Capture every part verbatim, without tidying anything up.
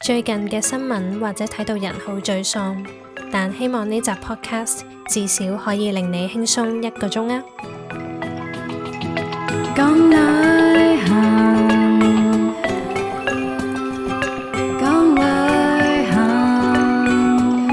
最近嘅新聞或者睇到人好沮喪，但希望呢集 podcast 至少可以令你輕鬆一個鐘啊！ 講旅行，講旅行。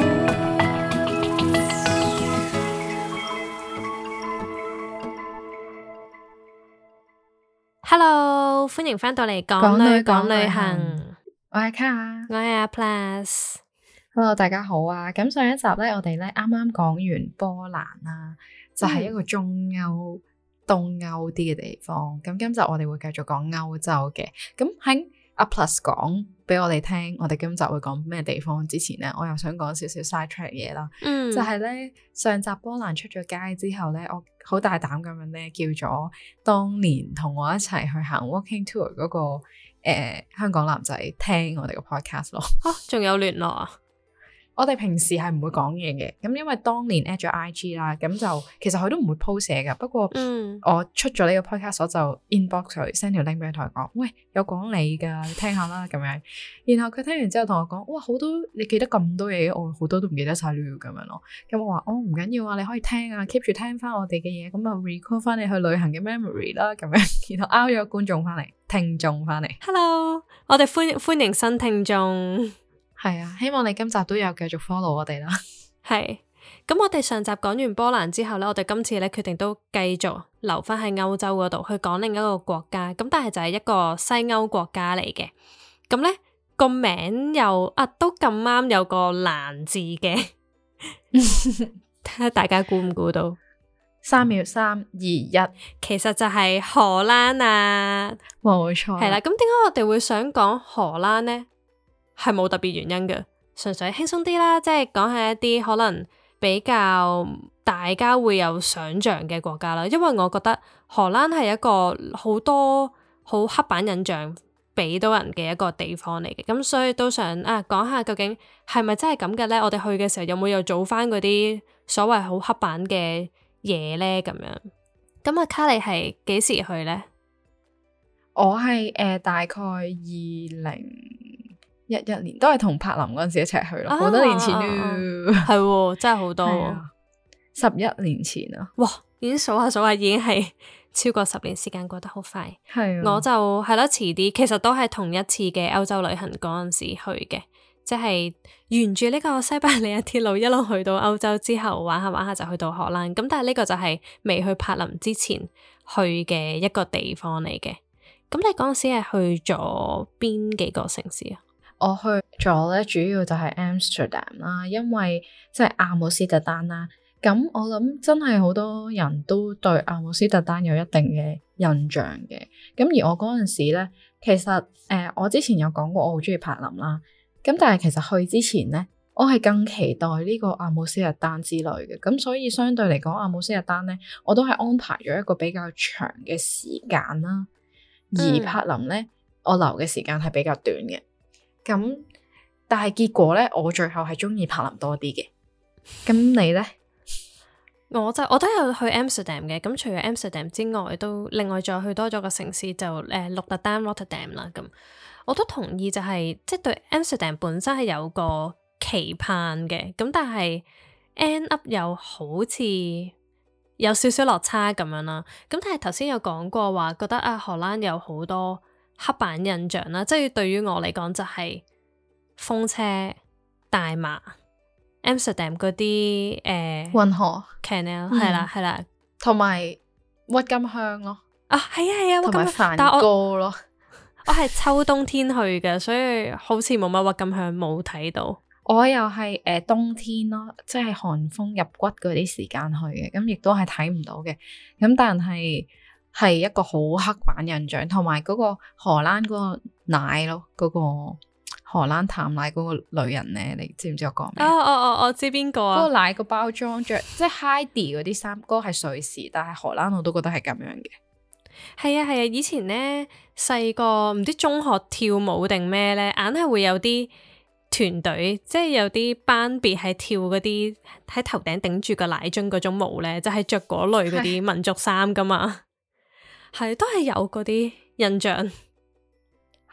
Hello，歡迎返到嚟講旅講旅行。 我係 Car， 我係阿 Plus。 Hello，大家好啊！咁上一集咧，我哋咧啱啱講完波蘭啦，就係、是、一個中歐、東歐啲嘅地方。咁今集我哋會繼續講歐洲嘅。咁喺阿 Plus 講俾我哋聽，我哋今集會講咩地方之前咧，我又想講少少 side track 嘢啦。嗯，就係咧上集波蘭出咗街之後咧，我好大膽咁樣咧叫咗當年同我一齊去行 walking tour 嗰、那個誒、呃、香港男仔聽我哋個 podcast 咯。 啊，仲有聯絡啊？ 我哋平時係唔會講嘢嘅，咁因為當年 at 咗 I G 啦，咁就其實佢都唔會 post 嘢噶。不過我出咗呢個 podcast，我就 inbox 佢 send 條 link 俾佢，同佢講，喂，有講你噶，你聽下啦咁樣。然後佢聽完之後同我講，哇，好多你記得咁多嘢，我好多都唔記得晒了咁樣咯。咁我話，哦，唔緊要啊，你可以聽啊 keep 住聽翻我哋嘅嘢，咁啊 recall 翻你去旅行嘅 memory 啦咁樣。然後 out 咗觀眾翻嚟，聽眾翻嚟。 Hello，我哋歡歡迎新聽眾。 係啊，希望你今集都有繼續 follow 我哋啦。 係，咁我哋上集講完波蘭之後呢，我哋今次呢決定都繼續留翻喺歐洲嗰度去講另一個國家，咁但係就係一個西歐國家嚟嘅。咁呢個名又啊都咁啱有個蘭字嘅，睇下大家估唔估到？ 三秒，三二一， 其實就係荷蘭啊， 冇錯。係啦，咁點解我哋會想講荷蘭呢？係冇特別原因嘅，純粹輕鬆啲啦，即係講下一啲可能比較大家會有想像嘅國家啦。因為我覺得荷蘭係一個好多好刻板印象俾到人嘅一個地方嚟嘅，咁所以都想啊講下究竟係咪真係咁嘅呢？我哋去嘅時候有冇又做翻嗰啲所謂好刻板嘅嘢呢？咁樣，咁阿卡你係幾時去呢？ 我係誒、呃、大概二零一一年都係同柏林嗰陣時一齊去咯，好、啊、多年前咯， 係喎、啊，真係好多、啊， 十一年前啊， 哇，已經數下數下，已經係超過十年，時間過得好快。係、啊，我就係咯，遲啲，其實都係同一次嘅歐洲旅行嗰陣時去嘅，即係沿住呢個西伯利亞鐵路一路去到歐洲之後，玩下玩下就去到荷蘭。咁但係呢個就係未去柏林之前去嘅一個地方嚟嘅。咁你嗰陣時係去咗邊幾個城市啊？ 我去咗咧，主要就係 Amsterdam 啦，因為即係阿姆斯特丹啦。咁我諗真係好多人都對阿姆斯特丹有一定嘅印象嘅。咁而我嗰陣時咧，其實誒、呃，我之前有講過我好中意柏林啦。咁但係其實去之前咧，我係更期待呢個阿姆斯特丹之旅嘅。咁所以相對嚟講，阿姆斯特丹咧，我都係安排咗一個比較長嘅時間啦。而柏林咧，我留嘅時間係比較短嘅。咁，但係結果咧，我最後係中意柏林多啲嘅。咁你咧？ 我就我都有去 Amsterdam 嘅。咁除咗 Amsterdam 之外，都另外再去多咗個城市就誒鹿特丹 Rotterdam 啦。咁我都同意、就係，就係即係對 Amsterdam 本身係有個期盼嘅。咁但係 end up 又好似有少少落差咁樣啦。咁但係頭先有講過話，覺得啊荷蘭有好多刻板印象啦，即係對於我嚟講就係風車、大麻、Amsterdam 嗰啲誒運河、 canal 係啦係啦， 同埋鬱金香咯。 啊係啊係啊，鬱金香梵高咯。 我係秋冬天去嘅，所以好似冇乜鬱金香冇睇到。 我又係誒、呃、冬天咯，即係寒風入骨嗰啲時間去嘅，咁亦都係睇唔到嘅。咁但係係一個好刻板印象，同埋嗰個荷蘭嗰個奶咯，嗰、嗰個荷蘭淡奶嗰個女人咧，你知唔知我講咩？ 哦哦哦，我知邊個啊？ 嗰個奶個包裝着即係 Heidi 嗰啲衫，嗰、嗰個係瑞士，但係荷蘭我都覺得係咁樣嘅。 係啊係啊，以前咧細個唔知中學跳舞定咩咧，硬係會有啲團隊，即係有啲班別係跳嗰啲喺頭頂頂住個奶樽嗰種舞咧，就係着嗰類嗰啲民族衫噶嘛，係都係有嗰啲印象。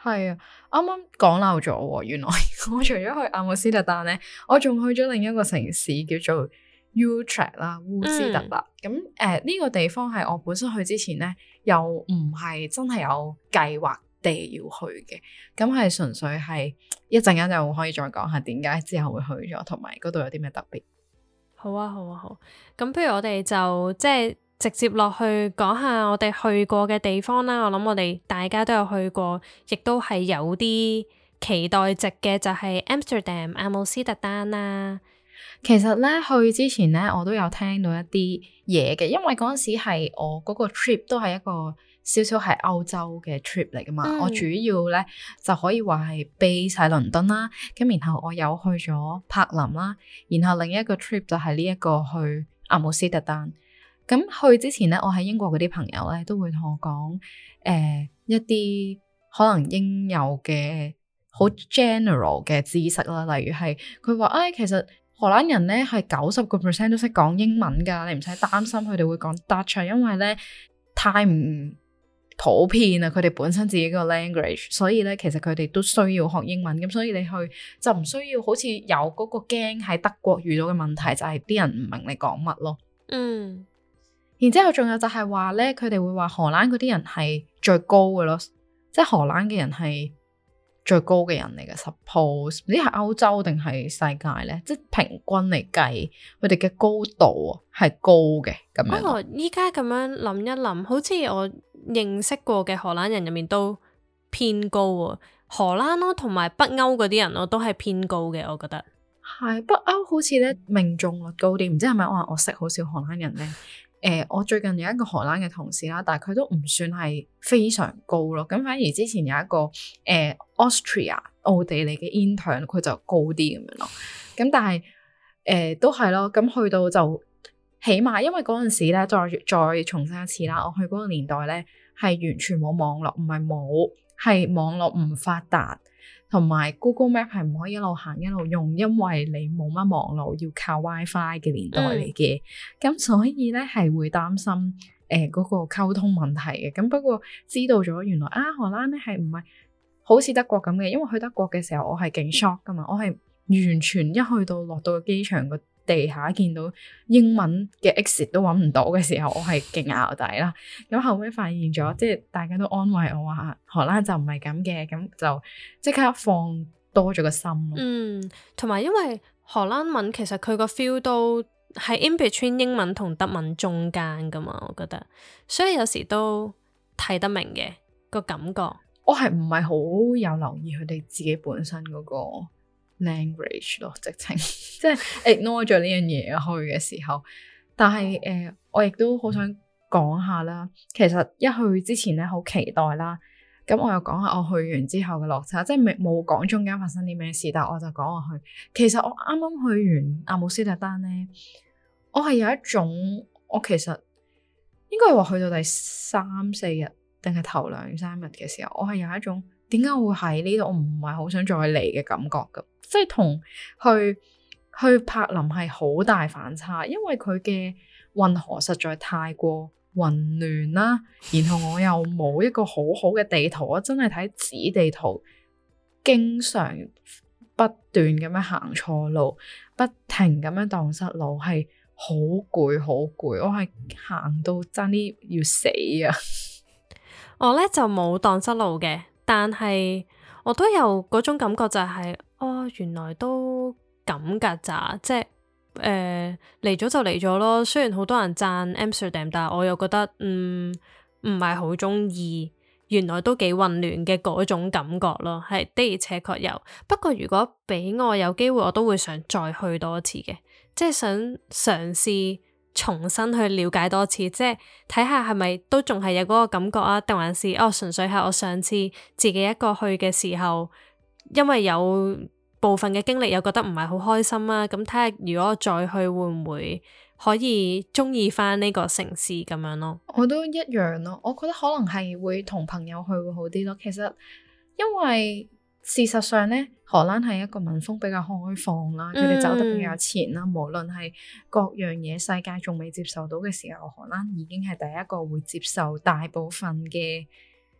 係啊，啱啱講漏咗喎，原來我除咗去阿姆斯特丹咧，我仲去咗另一個城市叫做 Utrecht 啦，烏斯特啦。咁誒呢個地方係我本身去之前咧，又唔係真係有計劃地要去嘅，咁係純粹係一陣間就可以再講下點解之後會去咗，同埋嗰度有啲咩特別。 好啊，好啊，好。咁不如我哋就即係直接落去講下我哋去過嘅地方啦。我諗我哋大家都有去過，亦都係有啲期待值嘅，就係 Amsterdam 阿姆斯特丹啦。 其實咧去之前咧，我都有聽到一啲嘢嘅，因為嗰陣時係我嗰個 trip 都係一個少少係歐洲嘅 trip 嚟噶嘛。嗯、我主要咧就可以話係 base 喺倫敦啦，咁然後我有去咗柏林啦，然後另一個 trip 就係呢一個去阿姆斯特丹。咁去之前咧，我喺英國嗰啲朋友咧都會同我講，誒、呃、一啲可能應有嘅好 general 嘅知識啦，例如係佢話，誒其實荷蘭人咧係九十個 percent 都識講英文㗎，你唔使擔心佢哋會講 Dutch，因為咧太唔普遍啦，佢哋本身自己個 language，所以咧其實佢哋都需要學英文，咁所以你去就唔需要好似有嗰個驚喺德國遇到嘅問題，就係、是、啲人唔明你講乜咯。嗯。然之後仲有就係話咧，佢哋會話荷蘭嗰啲人係最高嘅咯，即係荷蘭嘅人係最高嘅人嚟嘅。Suppose 唔知係歐洲定係世界咧，即係平均嚟計，佢哋嘅高度係高嘅咁樣。 不過依家咁樣諗一諗，好似我認識過嘅荷蘭人入面都偏高喎。荷蘭咯，同埋北歐嗰啲人咯，都係偏高嘅，我覺得。 係北歐好似咧命中率高啲，唔知係咪我話我識好少荷蘭人咧？誒、呃，我最近有一個荷蘭嘅同事啦，但係佢都唔算係非常高咯。咁反而之前有一個誒、呃、Austria 奧地利嘅 intern，佢就高啲咁樣咯。咁但係誒、呃、都係咯。咁去到就起碼，因為嗰陣時咧，再再重申一次啦，我去嗰個年代咧係完全冇網絡，唔係冇，係網絡唔發達。同埋 Google Map 係唔可以一路行一路用，因為你冇乜網絡，要靠 WiFi 嘅年代嚟嘅。咁、嗯、所以咧係會擔心誒嗰、呃那個溝通問題嘅。咁不過知道咗原來啊荷蘭咧係唔係好似德國咁嘅，因為去德國嘅時候我係勁 shock 噶嘛，我係完全一去到落到個機場個地下見到英文嘅 exit 都揾唔到嘅時候，我係勁淆底啦。咁後尾發現咗，即係大家都安慰我話荷蘭就唔係咁嘅，咁就即刻放多咗個心咯。嗯， 同埋因為荷蘭文其實佢個 feel 都係 in between 英文同德文中間噶嘛，我覺得，所以有時都睇得明嘅個感覺。 我係唔係好有留意佢哋自己本身嗰個 language 咯，直情即係 ignore 咗呢樣嘢去嘅時候，但係誒、呃，我亦都好想講下啦。其實一去之前咧，好期待啦。咁我又講下我去完之後嘅落差，即係未冇講中間發生啲咩事，但係我就講我去。其實我啱啱去完阿姆斯特丹咧，我係有一種，我其實應該係話去到第三四日定係頭兩三日嘅時候，我係有一種點解會喺呢度，我唔係好想再嚟嘅感覺㗎。即係同去去柏林係好大反差，因為佢嘅運河實在太過混亂啦，然後我又冇一個好好嘅地圖，我真係睇紙地圖，經常不斷咁樣行錯路，不停咁樣蕩失路，係好攰好攰，我係行到爭啲要死啊！ 我呢就冇蕩失路嘅，但係我都有嗰種感覺就係、是。哦，原來都咁㗎咋，即係誒嚟咗就嚟咗咯。雖然好多人讚 Amsterdam，但係我又覺得嗯唔係好中意。原來都幾混亂嘅嗰種感覺咯，係的而且確有。不過如果俾我有機會，我都會想再去多一次嘅，即係想嘗試重新去了解多次，即係睇下係咪都仲係有嗰個感覺啊，定還是哦純粹係我上次自己一個去嘅時候。因為有部分嘅經歷又覺得唔係好開心啊，咁睇下如果我再去會唔會可以中意翻呢個城市咁樣咯。我都一樣咯，我覺得可能係會同朋友去會好啲咯。其實因為事實上咧，荷蘭係一個民風比較開放啦，佢哋走得比較前啦，嗯、無論係各樣嘢世界仲未接受到嘅時候，荷蘭已經係第一個會接受大部分嘅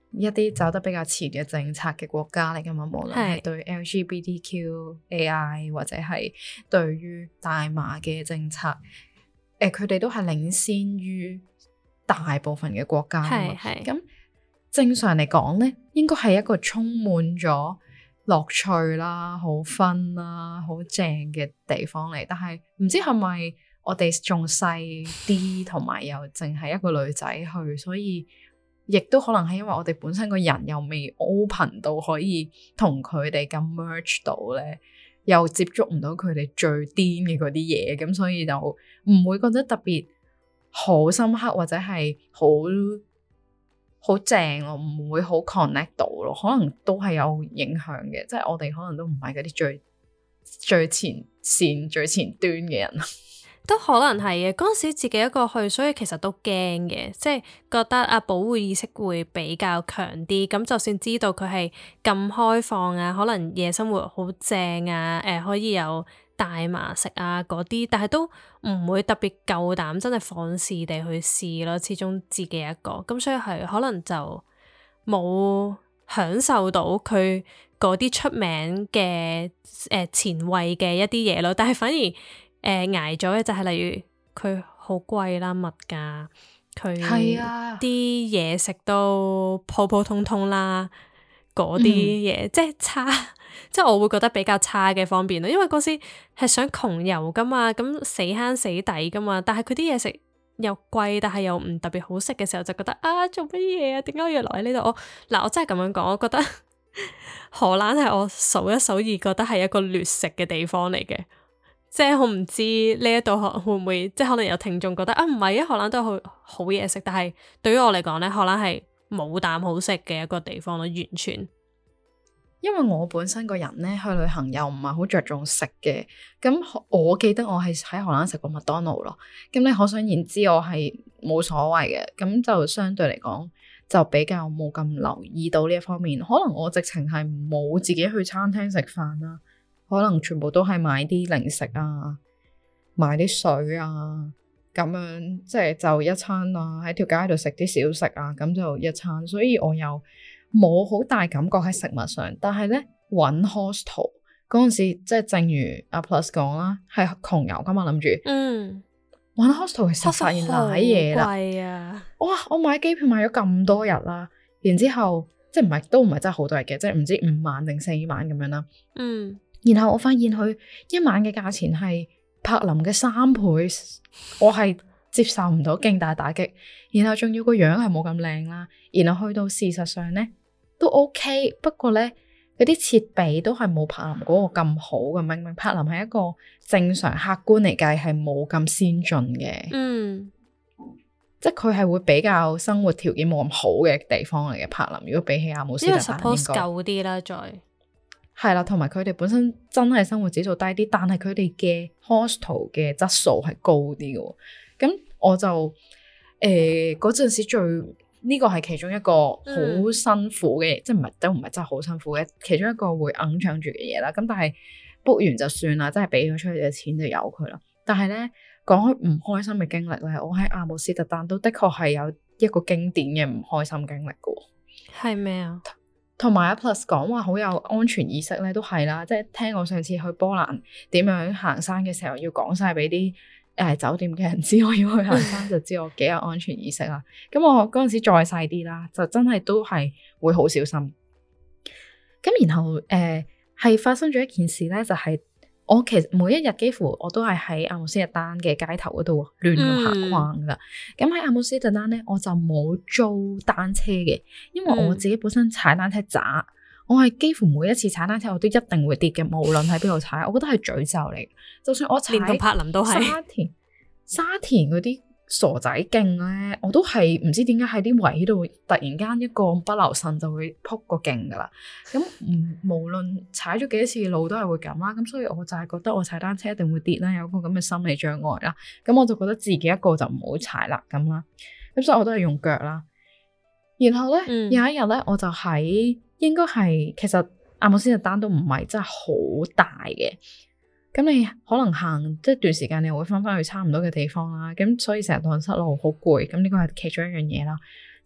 一啲走得比較前嘅政策嘅國家嚟㗎嘛，無論係對 L G B T Q A I 或者係對於大麻嘅政策，誒佢哋都係領先於大部分嘅國家㗎嘛。咁正常嚟講咧，應該係一個充滿咗樂趣啦、好 fun 啦、好正嘅地方嚟。但係唔知係咪我哋仲細啲，同埋又淨係一個女仔去，所以亦都可能係因為我哋本身個人又未 open 到可以同佢哋咁 merge 到咧，又接觸唔到佢哋最癲嘅嗰啲嘢，咁所以就唔會覺得特別好深刻或者係好好正咯，唔會好 connect 到咯，可能都係有影響嘅，即係我哋可能都唔係嗰啲最最前線最前端嘅人。 都可能係嘅，嗰陣時自己一個去，所以其實都驚嘅，即係覺得啊保護意識會比較強啲。咁就算知道佢係咁開放啊，可能夜生活好正啊，誒、呃、可以有大麻食啊嗰啲，但係都唔會特別夠膽真係放肆地去試咯。始終自己一個，咁所以係可能就冇享受到佢嗰啲出名嘅誒、呃、前衛嘅一啲嘢咯，但係反而。誒、呃、捱咗嘅就係例如佢好貴啦，物價佢啲嘢食都普普通通啦，嗰啲嘢即係差，即係我會覺得比較差嘅方面咯。因為嗰時係想窮遊噶嘛，咁死慳死抵噶嘛，但係佢啲嘢食又貴，但係又唔特別好食嘅時候，就覺得啊做乜嘢啊？點解要留喺呢度？我嗱我真係咁樣講，我覺得荷蘭係我數一數二覺得係一個劣食嘅地方嚟嘅。即係我唔知呢一度會唔會，即係可能有聽眾覺得啊唔係啊，荷蘭都好好嘢食，但係對於我嚟講咧，荷蘭係冇啖好食嘅一個地方咯，完全。 因為我本身個人咧去旅行又唔係好着重食嘅，咁我記得我係喺荷蘭食過麥當勞咯，咁你可想而知我係冇所謂嘅，咁就相對嚟講就比較冇咁留意到呢一方面，可能我直情係冇自己去餐廳食飯啦。可能全部都係買啲零食啊，買啲水啊，咁樣即係就一餐啊，喺條街度食啲小食啊，咁就一餐。所以我又冇好大感覺喺食物上。但係咧揾 hostel 嗰陣時，即係正如阿 Plus 講啦，係窮遊噶嘛，諗住嗯揾 hostel 其實發現瀨嘢啦。 貴啊！ 哇！我買機票買咗咁多日啦，然之後即係唔係都唔係真係好多日嘅，即係唔知五晚定四晚咁樣啦。嗯。然後我發現佢一晚嘅價錢係柏林嘅三倍，我係接受唔到，勁大打擊。然後仲要個樣係冇咁靚啦，然後去到事實上咧都 OK，不過咧嗰啲設備都係冇柏林嗰個咁好嘅。明明柏林係一個正常客觀嚟計係冇咁先進嘅，嗯，即係佢係會比較生活條件冇咁好嘅地方嚟嘅。柏林如果比起阿姆斯特丹，因為 suppose 舊啲啦，再。 係啦，同埋佢哋本身真係生活指數低啲，但係佢哋嘅 hostel 嘅質素係高啲嘅。咁我就誒嗰陣時最呢、這個係其中一個好辛苦嘅，嗯、即係唔係都唔係真係好辛苦嘅，其中一個會硬搶住嘅嘢啦。咁但係 book 完就算啦，真係俾咗出去嘅錢就由佢啦。但係咧講開唔開心嘅經歷咧，我喺阿姆斯特丹都的確係有一個經典嘅唔開心經歷嘅。 係咩啊？ 同埋阿 Plus 講話好有安全意識咧，都係啦，即係聽我上次去波蘭點樣行山嘅時候，要講晒俾啲誒酒店嘅人知我要去行山，就知我幾有安全意識啦。咁我嗰陣時再細啲啦，就真係都係會好小心。咁然後誒係、呃、發生咗一件事咧，就係、是、我其實每一日幾乎我都係喺阿姆斯特丹嘅街頭嗰度亂咁行逛噶。咁喺、嗯、阿姆斯特丹咧，我就冇租單車嘅，因為我自己本身踩單車渣，嗯、我係幾乎每一次踩單車我都一定會跌嘅，無論喺邊度踩，我覺得係詛咒嚟。就算我踩連同柏林都係沙田沙田嗰啲傻仔徑咧，我都係唔知點解喺啲位度突然間一個不留神就會撲個徑噶啦。咁唔無論踩咗幾多次路都係會咁啦。咁所以我就係覺得我踩單車一定會跌啦，有個咁嘅心理障礙啦。咁我就覺得自己一個就唔好踩啦咁啦。咁所以我都係用腳啦。然後咧、嗯、有一日咧，我就喺應該係其實阿姆斯特丹都唔係真係好大嘅。咁你可能行即係段時間，你會翻翻去差唔多嘅地方啦。咁所以成日蕩失路好攰。咁呢個係其中一樣嘢啦。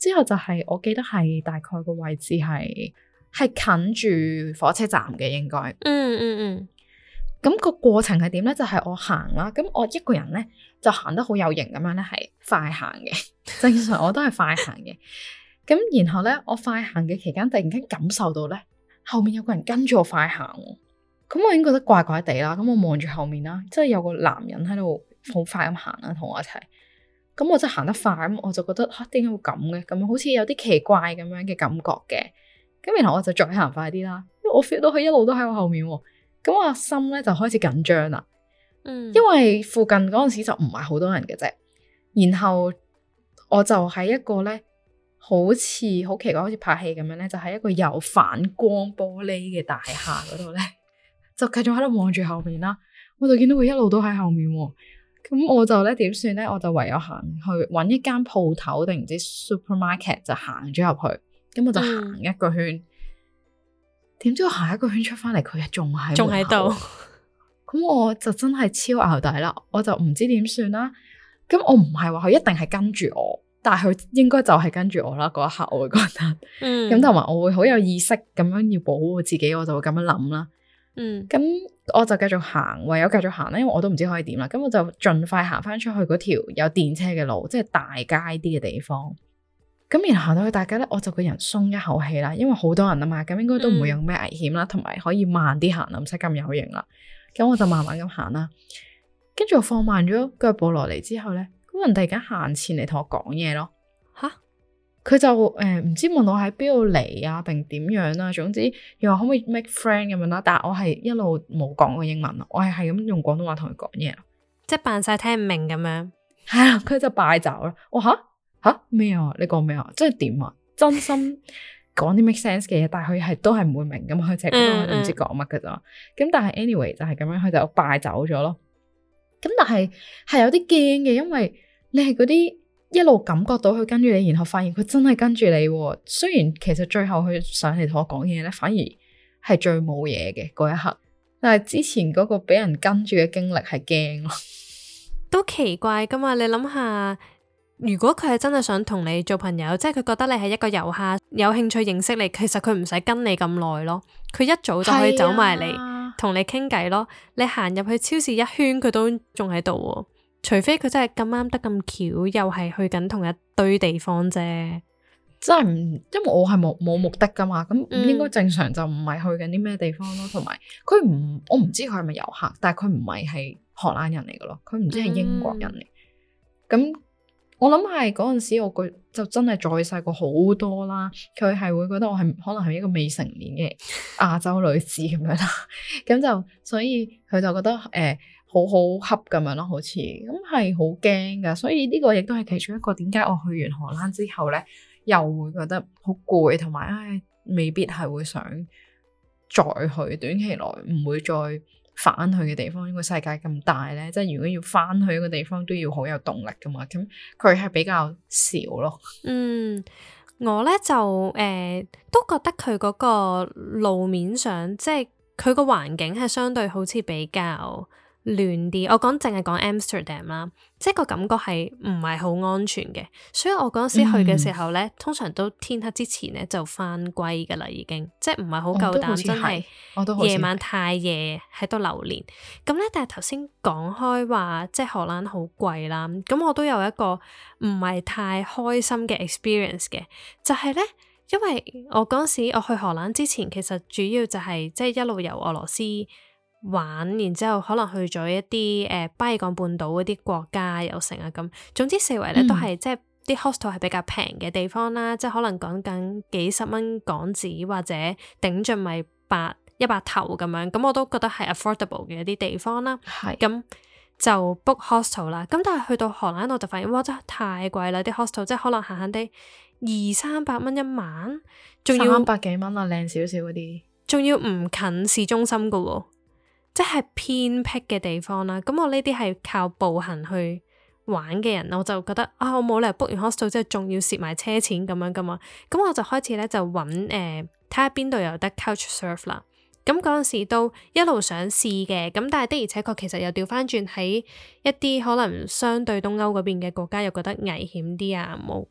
之後就係我記得係大概個位置係係近住火車站嘅應該。 嗯嗯嗯。 咁個過程係點咧？就係、是、我行啦，咁我一個人咧就行得好有型咁樣咧，係快行嘅。正常我都係快行嘅。咁然後咧，我快行嘅期間，突然間感受到咧後面有個人跟住我快行，咁我已經覺得怪怪地啦。咁我望住後面啦，即係有個男人喺度好快咁行啦，同我一齊。咁我真係行得快，咁我就覺得吓，點解會咁嘅？咁好似有啲奇怪咁樣嘅感覺嘅。咁然後我就再行快啲啦，因為我 feel 到佢一路都喺我後面。咁我心咧就開始緊張啦。 嗯， 因為附近嗰陣時就唔係好多人嘅啫。然後我就喺一個咧，好似好奇怪，好似拍戲咁樣咧，就喺一個有反光玻璃嘅大廈嗰度咧，就繼續喺度望住後面啦。我就見到佢一路都喺後面。咁我就咧點算咧？我就唯有行去揾一間鋪頭定唔知 supermarket 就行咗入去。咁我就行一個圈。點、嗯、知我行一個圈出翻嚟，佢仲喺仲喺度。 咁我就真係超淆底啦！我就唔知點算啦。咁我唔係話佢一定係跟住我，但係佢應該就係跟住我啦。嗰一刻我會覺得，嗯，咁同埋我會好有意識咁樣要保護自己，我就會咁樣諗啦。 嗯， 咁我就繼續行，唯有繼續行啦，因為我都唔知可以點啦。咁我就盡快行翻出去嗰條有電車嘅路，即係大街啲嘅地方。咁然後行到去大街咧，我就個人鬆一口氣啦，因為好多人啊嘛，咁應該都唔會有咩危險啦，同埋、嗯、可以慢啲行啦，唔使咁有型啦。咁我就慢慢咁行啦，跟住我放慢咗腳步落嚟之後咧，嗰人突然間行前嚟同我講嘢咯。吓哈，佢就誒唔、呃、知問我喺邊度嚟啊，定點樣啦？總之又話可唔可以 make friend 咁樣啦。但係我係一路冇講過英文咯，我係係咁用廣東話同佢講嘢咯， 即係扮晒聽唔明咁樣。 係啊，佢就敗走啦。我吓吓咩啊？你講咩啊？即係點啊？真心講啲 make sense 嘅嘢，但係佢係都係唔會明噶嘛，佢淨係覺得我唔知講乜噶咋。咁、嗯嗯、但係 anyway 就係咁樣，佢就敗走咗咯。咁但係係有啲驚嘅，因為你係嗰啲一路感覺到佢跟住你，然後發現佢真係跟住你。雖然其實最後佢上嚟同我講嘢咧，反而係最冇嘢嘅嗰一刻。但係之前嗰個俾人跟住嘅經歷係驚咯， 都奇怪噶嘛。你諗下。如果佢係真係想同你做朋友，即係佢覺得你係一個遊客，有興趣認識你，其實佢唔使跟你咁耐咯，佢一早就可以走埋嚟同你傾偈咯。你行入去超市一圈，佢都仲喺度喎，除非佢真係咁啱得咁巧，又係去緊同一堆地方啫。 真係唔，因為我係冇冇目的噶嘛，咁應該正常就唔係去緊啲咩地方咯。同埋佢唔，我唔知佢係咪遊客，但係佢唔係係荷蘭人嚟噶咯，佢唔知係英國人嚟，咁、嗯。我諗係嗰陣時，我個就真係再細個好多啦。佢係會覺得我係可能係一個未成年嘅亞洲女子咁樣啦。咁就所以佢就覺得誒、呃、好好恰咁樣咯，好似咁係好驚噶。所以呢個亦都係其中一個點解我去完荷蘭之後咧，又會覺得好攰，同埋唉未必係會想再去，短期內唔會再返去嘅地方。因為世界咁大咧，即係如果要返去一個地方都要好有動力噶嘛，咁佢係比較少咯。嗯， 我咧就誒、呃、都覺得佢嗰個路面上，即係佢個環境係相對好似比較亂啲。我講淨係講 Amsterdam 啦，即係個感覺係唔係好安全嘅，所以我嗰時去嘅時候咧，嗯、通常都天黑之前咧就返歸噶啦，已經即係唔係好夠膽真係夜晚太夜喺度流連。咁咧，但係頭先講開話，即係荷蘭好貴啦，咁我都有一個唔係太開心嘅 experience 嘅，就係、是、咧，因為我嗰時我去荷蘭之前，其實主要就係、是、即係一路由俄羅斯玩，然之後可能去咗一啲誒、呃、巴爾幹半島嗰啲國家又成啊咁，總之四圍咧都係、嗯、即係啲 hostel 係比較平嘅地方啦，即係可能講緊幾十蚊港紙或者頂盡咪百一百頭咁樣，咁我都覺得係 affordable 嘅一啲地方啦。係咁是就 book hostel 啦，咁但係去到荷蘭我就發現哇真係太貴啦，啲 hostel 即係可能閒閒地二三百蚊一晚，仲要三百幾蚊啊，靚少少嗰啲， 仲要唔近市中心噶喎。即係偏僻嘅地方啦，咁我呢啲係靠步行去玩嘅人，我就覺得啊，我冇理由 book 完 hostel 之後仲要蝕埋車錢咁樣噶嘛，咁我就開始咧就揾誒睇下邊度有得 couch surf 啦。咁嗰陣時都一路想試嘅，咁但係的而且確其實又調翻轉喺一啲可能相對東歐嗰邊嘅國家又覺得危險啲啊，冇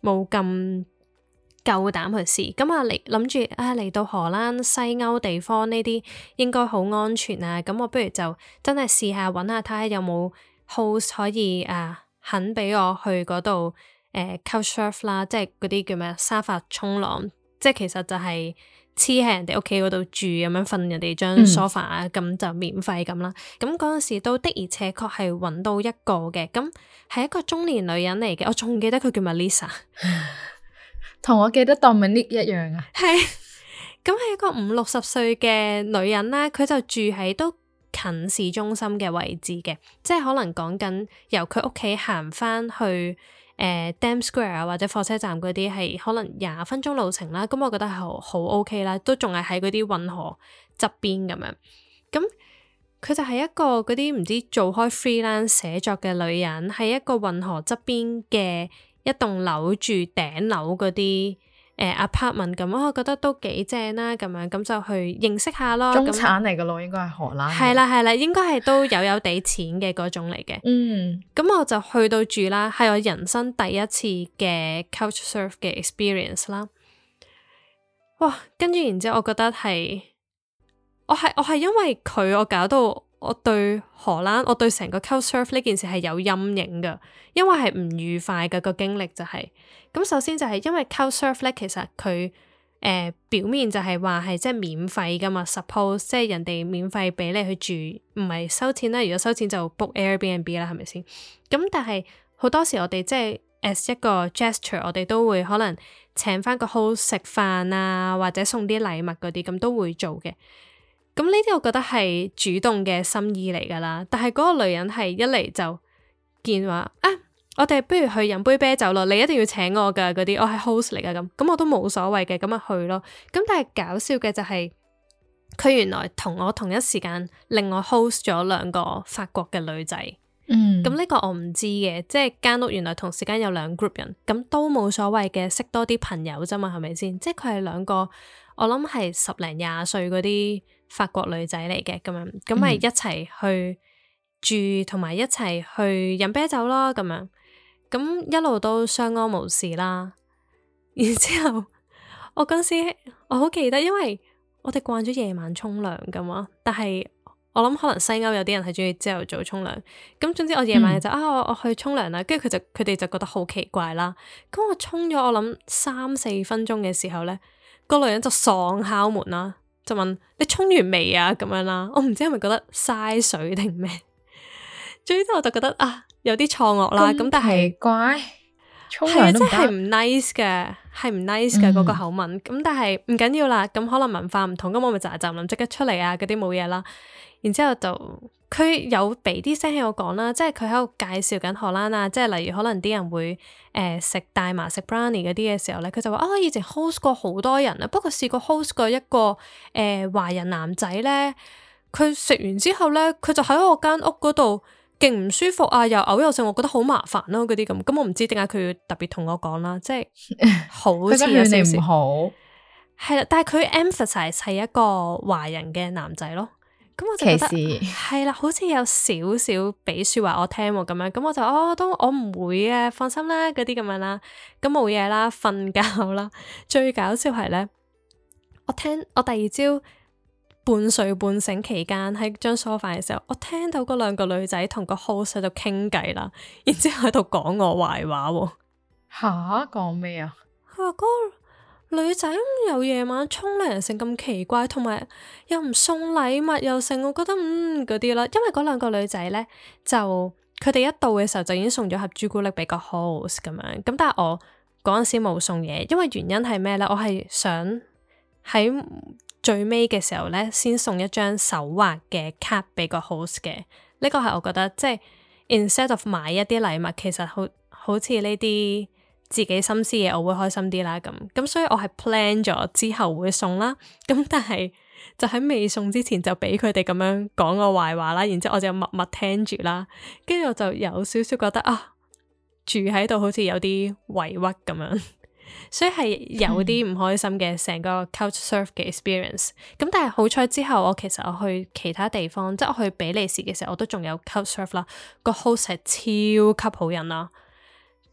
冇咁夠膽去試。咁啊嚟諗住啊嚟到荷蘭西歐地方呢啲應該好安全啊，咁我不如就真係試下揾下睇下有冇 host 可以啊肯俾我去嗰度誒 couchsurf 啦，即係嗰啲叫咩沙發衝浪，即係其實就係黐喺人哋屋企嗰度住咁樣瞓人哋張 sofa 啊，咁、嗯、就免費咁啦。咁嗰陣時都的而且確係揾到一個嘅，咁係一個中年女人嚟嘅，我仲記得佢叫 Melissa， 同我記得 Dominic 一樣啊。 係，咁係一個五六十歲嘅女人啦，佢就住喺都近市中心嘅位置嘅，即係可能講緊由佢屋企行翻去。誒、呃、Dam Square 啊，或者火車站嗰啲係可能廿分鐘路程啦，咁我覺得係好好 OK 啦，都仲係喺嗰啲運河側邊咁樣。咁佢就係一個嗰啲唔知做開 freelance 寫作嘅女人，喺一個運河側邊嘅一棟樓住頂樓嗰啲誒 apartment 咁，我覺得都幾正啦，咁樣咁就去認識下咯。 中產嚟嘅咯，應該係荷蘭。 係啦係啦，應該係都有有地錢嘅嗰種嚟嘅。嗯，咁我就去到住啦，係我人生第一次嘅 couchsurf 嘅 experience 啦。哇，跟住然之後，我覺得係我係我係因為佢，我搞到我對荷蘭，我對成個 couchsurf 呢件事係有陰影噶，因為係唔愉快嘅個經歷就係、是。咁首先就係因為 couchsurf 咧，其實佢誒、呃、表面就係話係即係免費噶嘛 ，suppose 即係人哋免費俾你去住，唔係收錢啦。如果收錢就 book Airbnb 啦，係咪先？咁但係好多時我哋即係 as 一個 gesture，我哋都會可能請翻個 host 食飯啊，或者送啲禮物嗰啲，咁都會做嘅。咁呢啲我覺得係主動嘅心意嚟噶啦。但係嗰個女人係一嚟就見話啊。我哋不如去飲杯啤酒咯，你一定要請我噶嗰啲，我係 host 嚟噶咁，咁我都冇所謂嘅，咁咪去咯。咁但係搞笑嘅就係、是，佢原來同我同一時間另外 host 咗兩個法國嘅女仔，嗯，咁呢個我唔知嘅，即係間屋原來同時間有兩 group 人，咁都冇所謂嘅，識多啲朋友啫嘛，係咪先？即係佢係兩個，我諗係十零廿歲嗰啲法國女仔嚟嘅，咁樣，咁咪一齊去住，同埋一齊去飲啤酒咯，咁樣。咁一路都相安無事啦，然之後我嗰時我好記得，因為我哋慣咗夜晚沖涼噶嘛，但係我諗可能西歐有啲人係中意朝頭早沖涼，咁總之我夜晚就、嗯、啊我，我去沖涼啦，跟住佢就佢哋就覺得好奇怪啦，咁我沖咗我諗三四分鐘嘅時候咧，個女人就喪敲門啦，就問你沖完未啊咁樣啦，我唔知係咪覺得嘥水定咩，總之我就覺得啊。有啲錯愕啦，咁但係怪沖涼都唔得， 係唔 nice 嘅，係唔 nice 嘅嗰個口吻。咁、嗯、但係唔緊要啦，咁可能文化唔同，咁我咪就係就諗即刻出嚟啊，嗰啲冇嘢啦。然之後就佢有俾啲聲喺我講啦，即係佢喺度介紹緊荷蘭啊，即係例如可能啲人會誒食、呃、大麻食 brownie 嗰啲嘅時候咧，佢就話啊，以前 host 過好多人啊，不過試過 host 過一個誒、呃、華人男仔咧，佢食完之後咧，佢就喺我間屋嗰度。勁唔舒服啊，又嘔又剩，我覺得好麻煩咯，嗰啲咁，咁我唔知點解佢要特別同我講啦，即係好似有少少唔好，係啦，但係佢 emphasize 係一個華人嘅男仔咯，咁我就覺得係啦，好似有少少俾說話我聽咁樣，咁我就哦都我唔會啊，放心啦，嗰啲咁樣啦，咁冇嘢啦，瞓覺啦，最搞笑係咧，我聽我第二朝。半睡半醒期間喺張梳化嘅時候，我聽到嗰兩個女仔同個 host 喺度傾偈啦，然之後喺度講我壞話喎。 吓？講咩啊？ 佢話嗰個女仔又夜晚沖涼成咁奇怪，同埋又唔送禮物又成，我覺得嗯嗰啲啦。因為嗰兩個女仔咧，就佢哋一到嘅時候就已經送咗盒朱古力俾個 host 咁樣。咁但係我嗰陣時冇送嘢，因為原因係咩咧？我係想喺最尾嘅時候咧，先送一張手畫嘅卡俾個 host 嘅，呢個係我覺得即係 instead of 買一啲禮物，其實好好似呢啲自己心思嘢，我會開心啲啦咁。咁所以我係 plan 咗之後會送啦，咁但係就喺未送之前就俾佢哋咁樣講我壞話啦，然之後我就默默聽住啦，跟住我就有少少覺得啊，住喺度好似有啲委屈咁樣。所以係有啲唔開心嘅成個 couchsurf 嘅 experience，咁但係好彩之後我其實我去其他地方，即係我去比利時嘅時候，我都仲有 couchsurf 啦，個 host 係超級好人啦，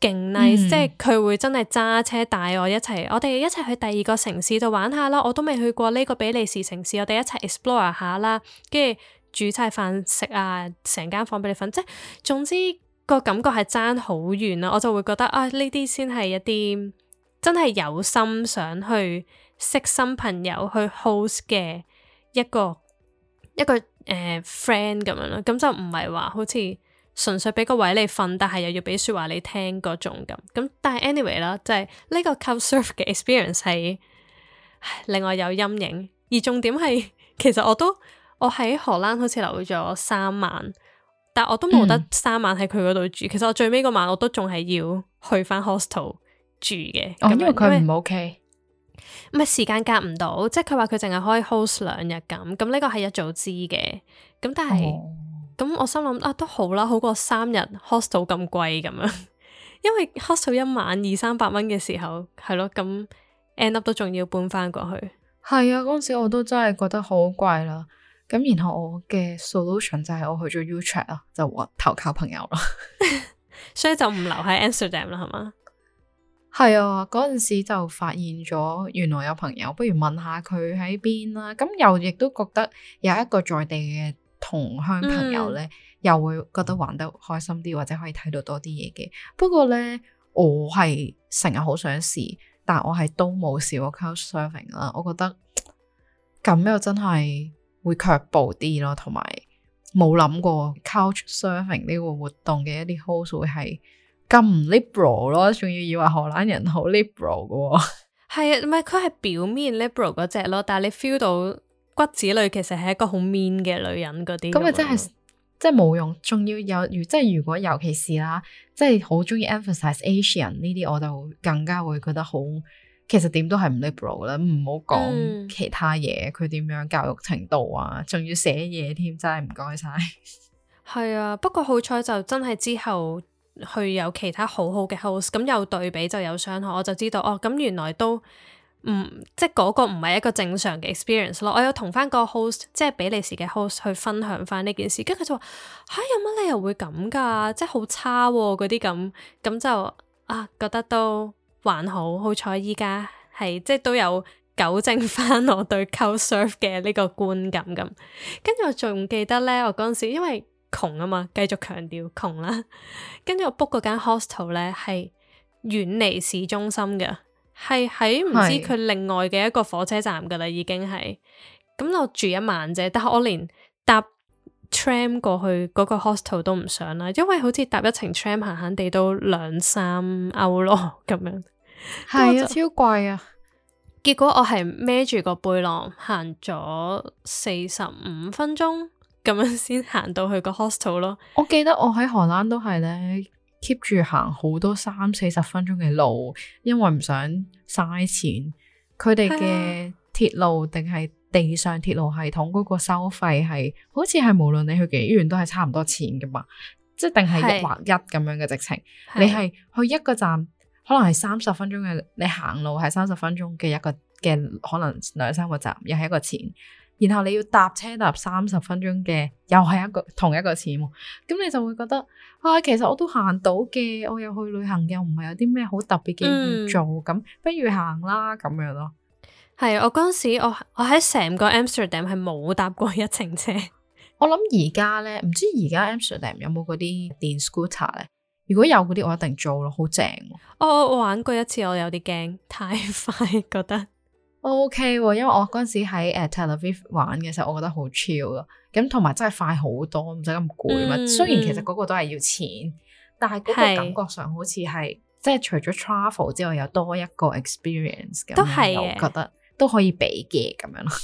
勁 nice，、 嗯、 即係佢會真係揸車帶我一齊，我哋一齊去第二個城市度玩下啦。我都未去過呢個比利時城市，我哋一齊 explore 下啦。跟住煮晒飯食啊，成間房俾你瞓，即係總之個感覺係爭好遠啦。我就會覺得啊，呢啲先係一啲真係有心想去識新朋友去 host 嘅一個一個誒、呃、friend 咁樣咯。咁就唔係話好似純粹俾個位你瞓，但係又要俾說話你聽嗰種咁。咁但係 anyway 啦，就係呢個 Couchsurf 嘅 experience 係令我有陰影。而重點係其實我都我喺荷蘭好似留咗三晚，但我都冇得三晚喺佢嗰度住。嗯、其實我最尾嗰晚我都仲係要去翻 hostel 住嘅。 哦，因為佢唔 OK， 唔係時間夾唔到，即係佢話佢淨係可以 host 兩日咁。咁呢個係一早知嘅。咁但係咁、哦、我心諗啊，都好啦，好過三日 hostel 咁貴咁樣。因為 hostel 一晚二三百蚊嘅時候，係咯，咁 end up 都仲要搬翻過去。 係啊，嗰陣時我都真係覺得好貴啦。咁然後我嘅 solution 就係我去咗 Utrecht 啊，就投靠朋友啦。 所以就唔留喺 Amsterdam 啦，係嘛？ 係啊，嗰陣時就發現咗原來有朋友，不如問下佢喺邊啦。咁又亦都覺得有一個在地嘅同鄉朋友咧，嗯、又會覺得玩得開心啲，或者可以睇到多啲嘢嘅。不過咧，我係成日好想試，但我係都冇試過 Couchsurfing 啦。我覺得咁又真係會卻步啲咯，同埋冇諗過 Couchsurfing 呢個活動嘅一啲 host 會係咁唔 liberal 咯，仲要以為荷蘭人好 liberal 嘅。係啊，唔係佢係表面 liberal 嗰隻咯，但係你 feel 到骨子裏其實係一個好 mean 嘅女人嗰啲。咁咪真係即係冇用，仲要有如即係如果尤其是啦，即係好中意 emphasize Asian 呢啲，我就更加會覺得好。其實點都係唔 liberal 啦，唔好講其他嘢，佢點、嗯、樣教育程度啊，仲要寫嘢添，真係唔該晒。係啊，不過好彩就真係之後去有其他好好嘅 host，咁有對比就有傷害，我就知道哦，咁原來都唔即係嗰個唔係一個正常嘅 experience 咯。我有同翻個 host，即係比利時嘅 host 去分享翻呢件事，跟住佢就話吓、啊、有乜理由會咁噶，即係好差嗰啲咁，咁就啊覺得都。還好，好彩依家係即係都有糾正翻我對 Couchsurf 嘅呢個觀感咁。跟住我仲記得咧，我嗰陣時因為窮啊嘛，繼續強調窮啦。跟住我 book 嗰間 hostel 咧係遠離市中心嘅，係喺唔知佢另外嘅一個火車站噶啦，已經係。咁我住一晚啫，但係我連搭 tram 過去嗰個 hostel 都唔想啦，因為好似搭一程 tram 閒閒地都兩三歐咯咁樣。係啊，超貴啊！結果我係孭住個背囊行咗四十五分鐘咁樣先行到去個 hostel 咯。我記得我喺荷蘭都係咧 keep 住行好多三四十分鐘嘅路，因為唔想嘥錢。佢哋嘅鐵路定係地上鐵路系統嗰個收費係，好似係無論你去幾遠都係差唔多錢噶嘛，即係定係一劃一咁樣嘅直程。你係去一個站。可能係三十分鐘嘅，你行路係三十分鐘嘅一個嘅，可能兩三個站，又係一個錢。然後你要搭車搭三十分鐘嘅，又係一個同一個錢。咁你就會覺得啊，其實我都行到嘅，我又去旅行嘅，唔係有啲咩好特別嘅要做，咁、嗯、不如行啦咁樣咯。係我嗰陣時，我我喺成個 Amsterdam 係冇搭過一程車。我諗而家咧，唔知而家 Amsterdam 有冇嗰啲電 scooter 咧？如果有嗰啲，我一定做咯，好正。我我玩過一次，我有啲驚，太快覺得。O K，因為我嗰陣時喺誒 Tel Aviv 玩嘅時候，我覺得好 chill 咯。咁同埋真係快好多，唔使咁攰嘛。嗯、雖然其實嗰個都係要錢，但係嗰個感覺上好似係即係除咗 travel 之外，有多一個 experience 咁，都係我覺得都可以比嘅咁樣咯。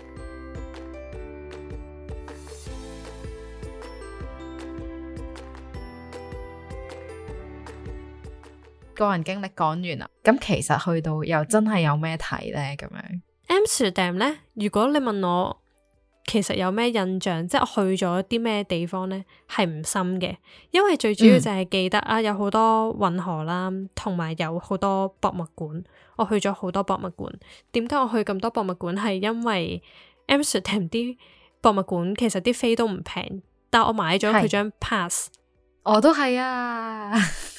個人經歷講完啦，咁其實去到又真係有咩睇呢？咁樣 Amsterdam 呢，如果你問我其實有咩印象，即係我去咗啲咩地方呢，係唔深嘅，因為最主要就係記得、嗯、啊有好多運河啦，同埋有好多博物館，我去咗好多博物館。點解我去咁多博物館？係因為 Amsterdam 啲博物館其實啲飛都唔平，但我買咗佢張 pass。我都係啊。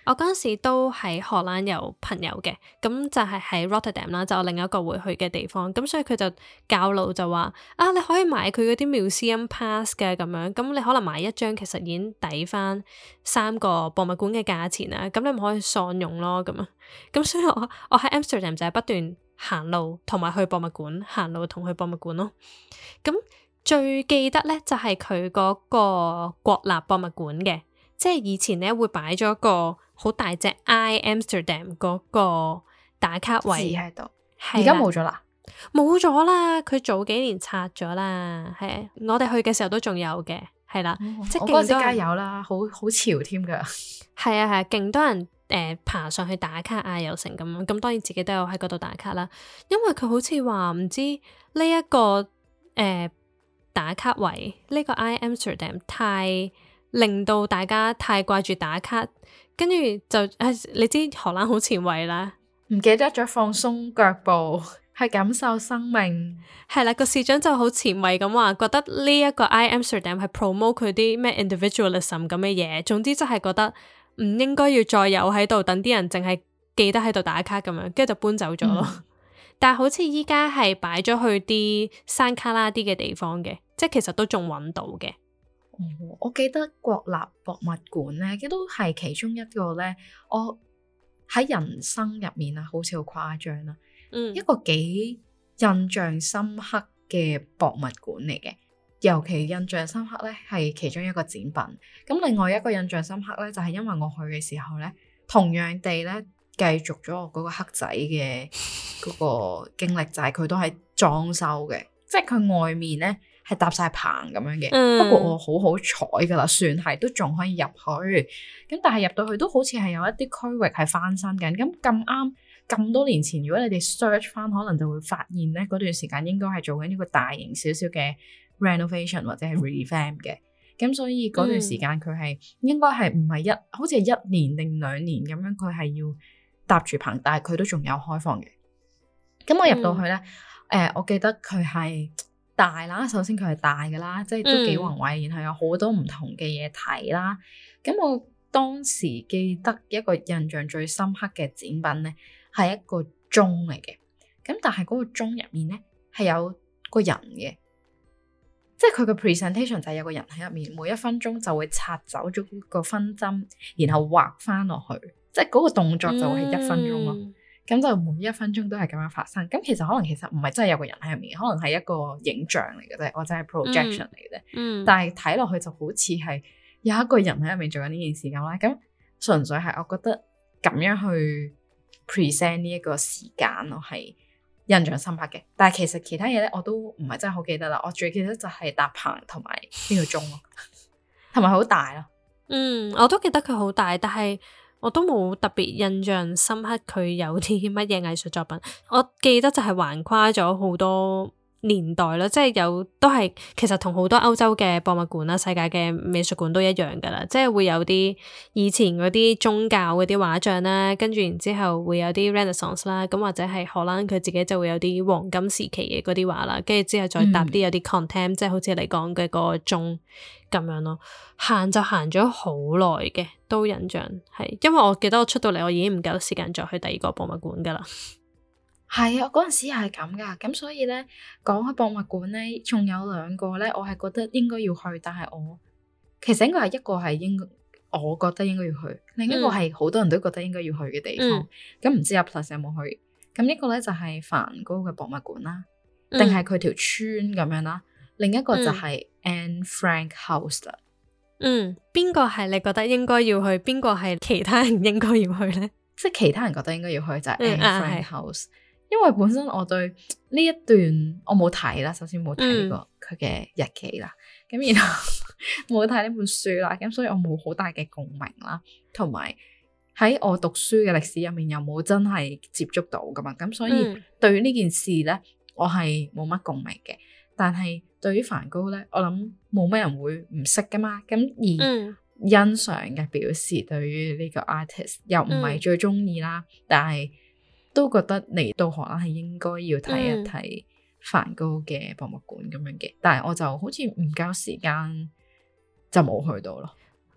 我嗰陣時都喺荷蘭有朋友嘅，咁就係喺 Rotterdam 啦，就我另一個會去嘅地方。咁所以佢就教路就話啊，你可以買佢嗰啲 museum pass 嘅咁樣，咁你可能買一張其實已經抵翻三個博物館嘅價錢啦。咁你咪可以喪用咯咁啊。咁所以我我喺 Amsterdam 就係不斷行路同埋去博物館，行路同去博物館咯。咁最記得咧就係佢嗰個國立博物館嘅。即係以前咧會擺咗個好大隻 I Amsterdam 嗰個打卡位喺度，而家冇咗啦， 冇咗啦，佢早幾年拆咗啦，係我哋去嘅時候都仲有嘅，係啦， 哦、 即係我嗰時加油啦，好好潮添噶， 係啊係啊，勁多人誒、呃、爬上去打卡啊又成咁樣，咁當然自己都有喺嗰度打卡啦，因為佢好似話唔知呢、這、一個誒、呃、打卡位呢、這個 I Amsterdam 太令到大家太掛住打卡，跟住就誒、哎，你知荷蘭好前衛啦， 唔記得咗放鬆腳步，去感受生命。 係啦，個市長就好前衛咁話，覺得呢一個 I Amsterdam 係 promote 佢啲咩 individualism 咁嘅嘢，總之就係覺得唔應該要再有喺度，等啲人淨係記得喺度打卡咁樣，跟住就搬走咗咯。嗯、但係好似依家係擺咗去啲山卡拉啲嘅地方嘅，即係其實都仲揾到嘅。 哦、我記得國立博物館咧，亦都係其中一個咧，我喺人生入面啊，好似好誇張啦，嗯，一個幾印象深刻嘅博物館嚟嘅，尤其印象深刻咧係其中一個展品。咁另外一個印象深刻咧，就係、是、因為我去嘅時候咧，同樣地咧繼續咗我嗰個黑仔嘅嗰個經歷，就係佢都係裝修嘅，即係佢外面咧。係搭晒棚咁樣嘅，嗯、不過我好好彩噶啦，算係都仲可以入去。咁但係入到去都好似係有一啲區域係翻新緊。咁咁啱咁多年前，如果你哋 search 翻，可能就會發現咧，嗰段時間應該係做緊一個大型少少嘅 renovation 或者係 revamp 嘅。咁所以嗰段時間佢係應該係唔係一，好似係一年定兩年咁樣，佢係要搭住棚，但係佢都仲有開放嘅。咁我入到去咧，誒、嗯呃，我記得佢係。大啦，首先佢係大㗎啦，即係都幾宏偉，嗯、然後有好多唔同嘅嘢睇啦。咁我當時記得一個印象最深刻嘅展品咧，係一個鐘嚟嘅。咁但係嗰個鐘入面咧係有個人嘅，即係佢嘅 presentation 就係有個人喺入面，每一分鐘就會拆走咗個分針，然後畫翻落去，即係嗰個動作就會係一分鐘咯。嗯咁就每一分鐘都係咁樣發生，咁其實可能其實唔係真係有個人喺入面，可能係一個影像嚟嘅啫，或者係 projection 嚟嘅啫。嗯。但係睇落去就好似係有一個人喺入面做緊呢件事咁啦。咁純粹係我覺得咁樣去 present 呢一個時間，我係印象深刻嘅。但係其實其他嘢咧，我都唔係真係好記得啦。我最記得就係搭棚同埋呢個鐘咯，同埋好大咯。嗯， 我都記得佢好大，但係。我都冇特別印象深刻佢有啲乜嘢藝術作品，我記得就係橫跨咗好多年代啦，即係有都係其實同好多歐洲嘅博物館啦、世界嘅美術館都一樣噶啦，即係會有啲以前嗰啲宗教嗰啲畫像啦，跟住然之後會有啲 Renaissance 啦，咁或者係荷蘭佢自己就會有啲黃金時期嘅嗰啲畫啦，跟住之後再搭啲有啲 Contempt、嗯、即係好似你講嘅嗰個鐘咁樣咯，行就行咗好耐嘅，都印象係，因為我記得我出到嚟我已經唔夠時間再去第二個博物館噶啦。 係啊，嗰陣時又係咁噶，咁所以咧講開博物館咧，仲有兩個咧，我係覺得應該要去，但係我其實應該係一個係應該，我覺得應該要去，另一個係好多人都覺得應該要去嘅地方。咁唔、嗯、知阿 Plus 有冇去？咁一個咧就係梵高嘅博物館啦，定係佢條村咁樣啦？另一個就係 Anne Frank House 啦。 嗯，邊個係你覺得應該要去？邊個係其他人應該要去咧？ 即係其他人覺得應該要去就係 Anne Frank House。因為本身我對呢一段我冇睇啦，首先冇睇過佢嘅日期啦，咁、嗯、然後冇睇呢本書啦，咁所以我冇好大嘅共鳴啦，同埋喺我讀書嘅歷史入面又冇真係接觸到噶嘛，咁所以對於呢件事咧，我係冇乜共鳴嘅。但係對於梵高咧，我諗冇咩人會唔識噶嘛，咁而欣賞嘅表示對於呢個 artist 又唔係最中意啦，嗯、但係。都覺得嚟到荷蘭係應該要睇一睇梵高嘅博物館咁樣嘅，嗯、但係我就好似唔夠時間就冇去到咯。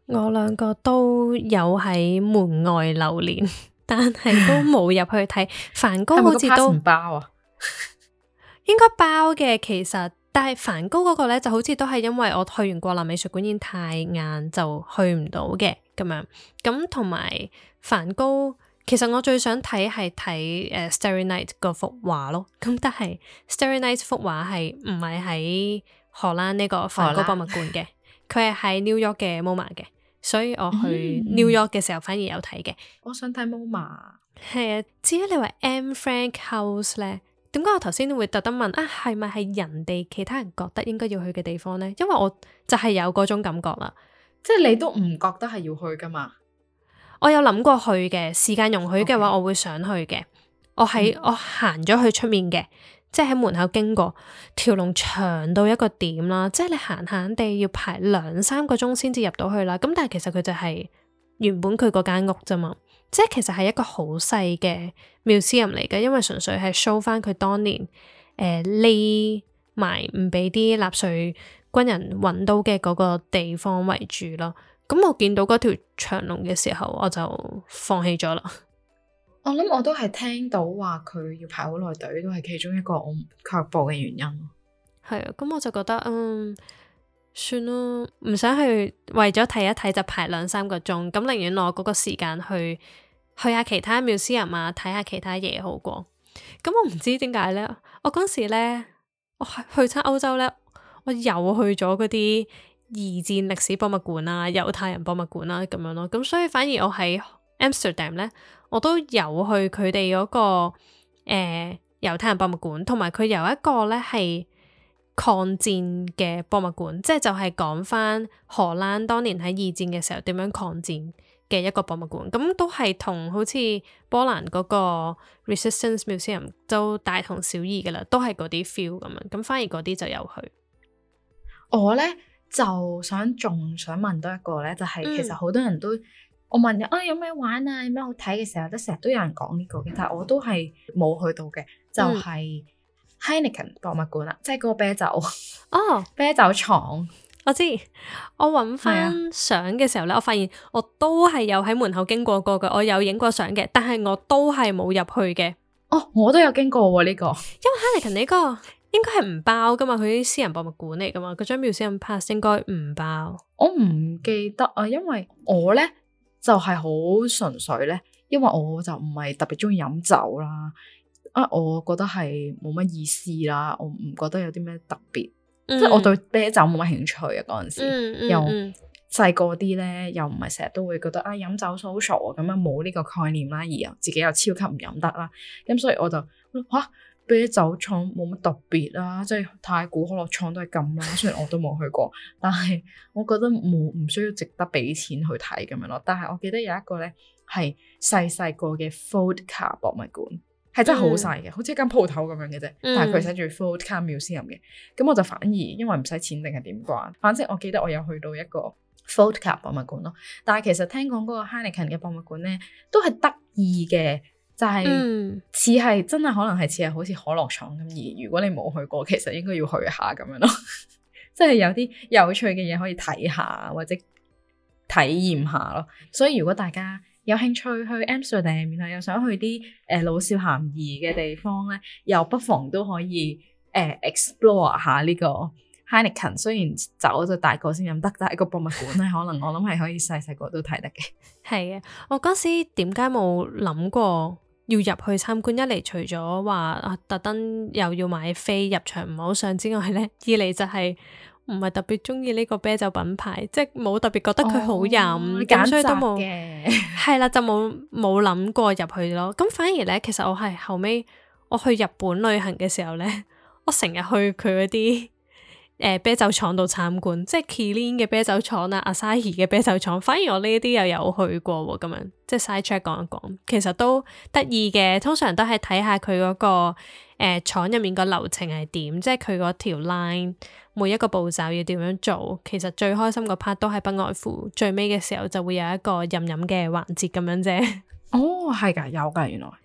我兩個都有喺門外流連，但係都冇入去睇。梵高好似都唔包啊， 應該包嘅其實，但係梵高嗰個咧就好似都係因為我去完國立美術館已經太晏就去唔到嘅咁樣。咁同埋梵高，其實我最想睇係睇誒 Starry Night 嗰幅畫咯。咁但係 Starry Night 幅畫係唔係喺荷蘭呢個梵高博物館嘅？佢係喺 New York 嘅 MoMA 嘅。所以我去 New York 嘅時候反而有睇嘅。 我想睇 MoMA。 係啊，至於你話 M Frank House 咧，點解我頭先會特登問啊？係咪係人哋其他人覺得應該要去嘅地方咧？因為我就係有嗰種感覺啦， 即係你都唔覺得係要去噶嘛？ 我有諗過去嘅，時間容許嘅話，我會想去嘅。我喺、嗯、我行咗去出面嘅。即係喺門口經過，條龍長到一個點啦，即係你行行地要排兩三個鐘先至入到去啦。咁但係其實佢就係原本佢嗰間屋啫嘛，即係其實係一個好細嘅 museum 嚟嘅，因為純粹係 show 翻佢當年誒匿埋唔俾啲納粹軍人揾到嘅嗰個地方為主咯。咁我見到嗰條長龍嘅時候，我就放棄咗啦。 我諗我都係聽到話佢要排好耐隊，都係其中一個我卻步嘅原因。 係啊，咁我就覺得嗯，算咯，唔想去為咗睇一睇就排兩三個鐘，咁寧願攞嗰個時間去去下其他 museum 啊，睇下其他嘢好過。咁我唔知點解咧，我嗰時咧，我去親歐洲咧，我又去咗嗰啲二戰歷史博物館啊、猶太人博物館啊咁樣咯。咁所以反而我喺 Amsterdam 咧，我都有去佢哋嗰個誒、呃、猶太人博物館，同埋佢有一個咧係抗戰嘅博物館，即係就係講翻荷蘭當年喺二戰嘅時候點樣抗戰嘅一個博物館。咁都係同好似波蘭嗰個 Resistance Museum 都大同小異噶啦，都係嗰啲 feel 咁樣。咁反而嗰啲就有去。 我咧就想仲想問多一個咧，就係、是、其實好多人都。嗯我問啊有咩玩啊，有咩好睇嘅時候，都成日都有人講呢個嘅，但係我都係冇去到嘅，就係、是、Heineken 博物館啦，即係嗰個啤酒哦， 啤酒廠。 我知，我揾翻相嘅時候咧，啊、我發現我都係有喺門口經過過嘅，我有影過相嘅，但係我都係冇入去嘅。 哦，我都有經過喎呢、這個， 因為 Heineken 呢個應該係唔包噶嘛，佢啲私人博物館嚟噶嘛，嗰張 museum pass 應該唔包。 我唔記得啊，因為我咧。就係好純粹咧，因為我就唔係特別中意飲酒啦，啊，我覺得係冇乜意思啦，我唔覺得有啲咩特別，嗯、即係我對啤酒冇乜興趣啊嗰陣時，嗯嗯、又細個啲咧，又唔係成日都會覺得啊飲酒 social 咁樣冇呢個概念啦，而又自己又超級唔飲得啦，咁所以我就吓。啊啤酒廠冇乜特別啦，即係太古可樂廠都係咁啦。雖然我都冇去過，但係我覺得冇唔需要值得俾錢去睇咁樣咯。但係我記得有一個咧係細細個嘅 Vodka 博物館，係真係好細嘅，嗯、好似一間鋪頭咁樣嘅啫。但係佢寫住 Vodka Museum 嘅，咁我就反而因為唔使錢定係點啩？反正我記得我有去到一個 Vodka 博物館咯。但係其實聽講嗰個 Heineken 嘅博物館咧都係得意嘅。就係似係真係可能係似係好似可樂廠咁，而如果你冇去過，其實應該要去下咁樣咯，即係有啲有趣嘅嘢可以睇下或者體驗下咯。所以如果大家有興趣去 Amsterdam， 然後又想去啲誒、呃、老少咸宜嘅地方咧，又不妨都可以誒、呃、explore 下呢個 Heineken。雖然酒就大個先飲得，但係個博物館咧，可能我諗係可以細細個都睇得嘅。 係嘅，我嗰時點解冇諗過要入去參觀？一嚟除咗話啊，特登又要買飛入場唔好上之外咧，二嚟就係唔係特別中意呢個啤酒品牌，即係冇特別覺得佢好飲，咁、哦、所以都冇係啦，就冇冇諗過入去咯。咁反而咧，其實我係後尾我去日本旅行嘅時候咧，我成日去佢嗰啲誒啤酒廠度參觀，即係 Kirin 嘅啤酒廠啊、Asahi 嘅啤酒廠，反而我呢啲又有去過喎，咁樣即係 side track 講一講，其實都得意嘅。通常都係睇下佢嗰個誒廠入面個流程係點，即係佢嗰條 line 每一個步驟要點樣做。其實最開心個 part 都係不外乎最尾嘅時候就會有一個飲飲嘅環節咁樣啫。 哦，係㗎，有㗎，原來。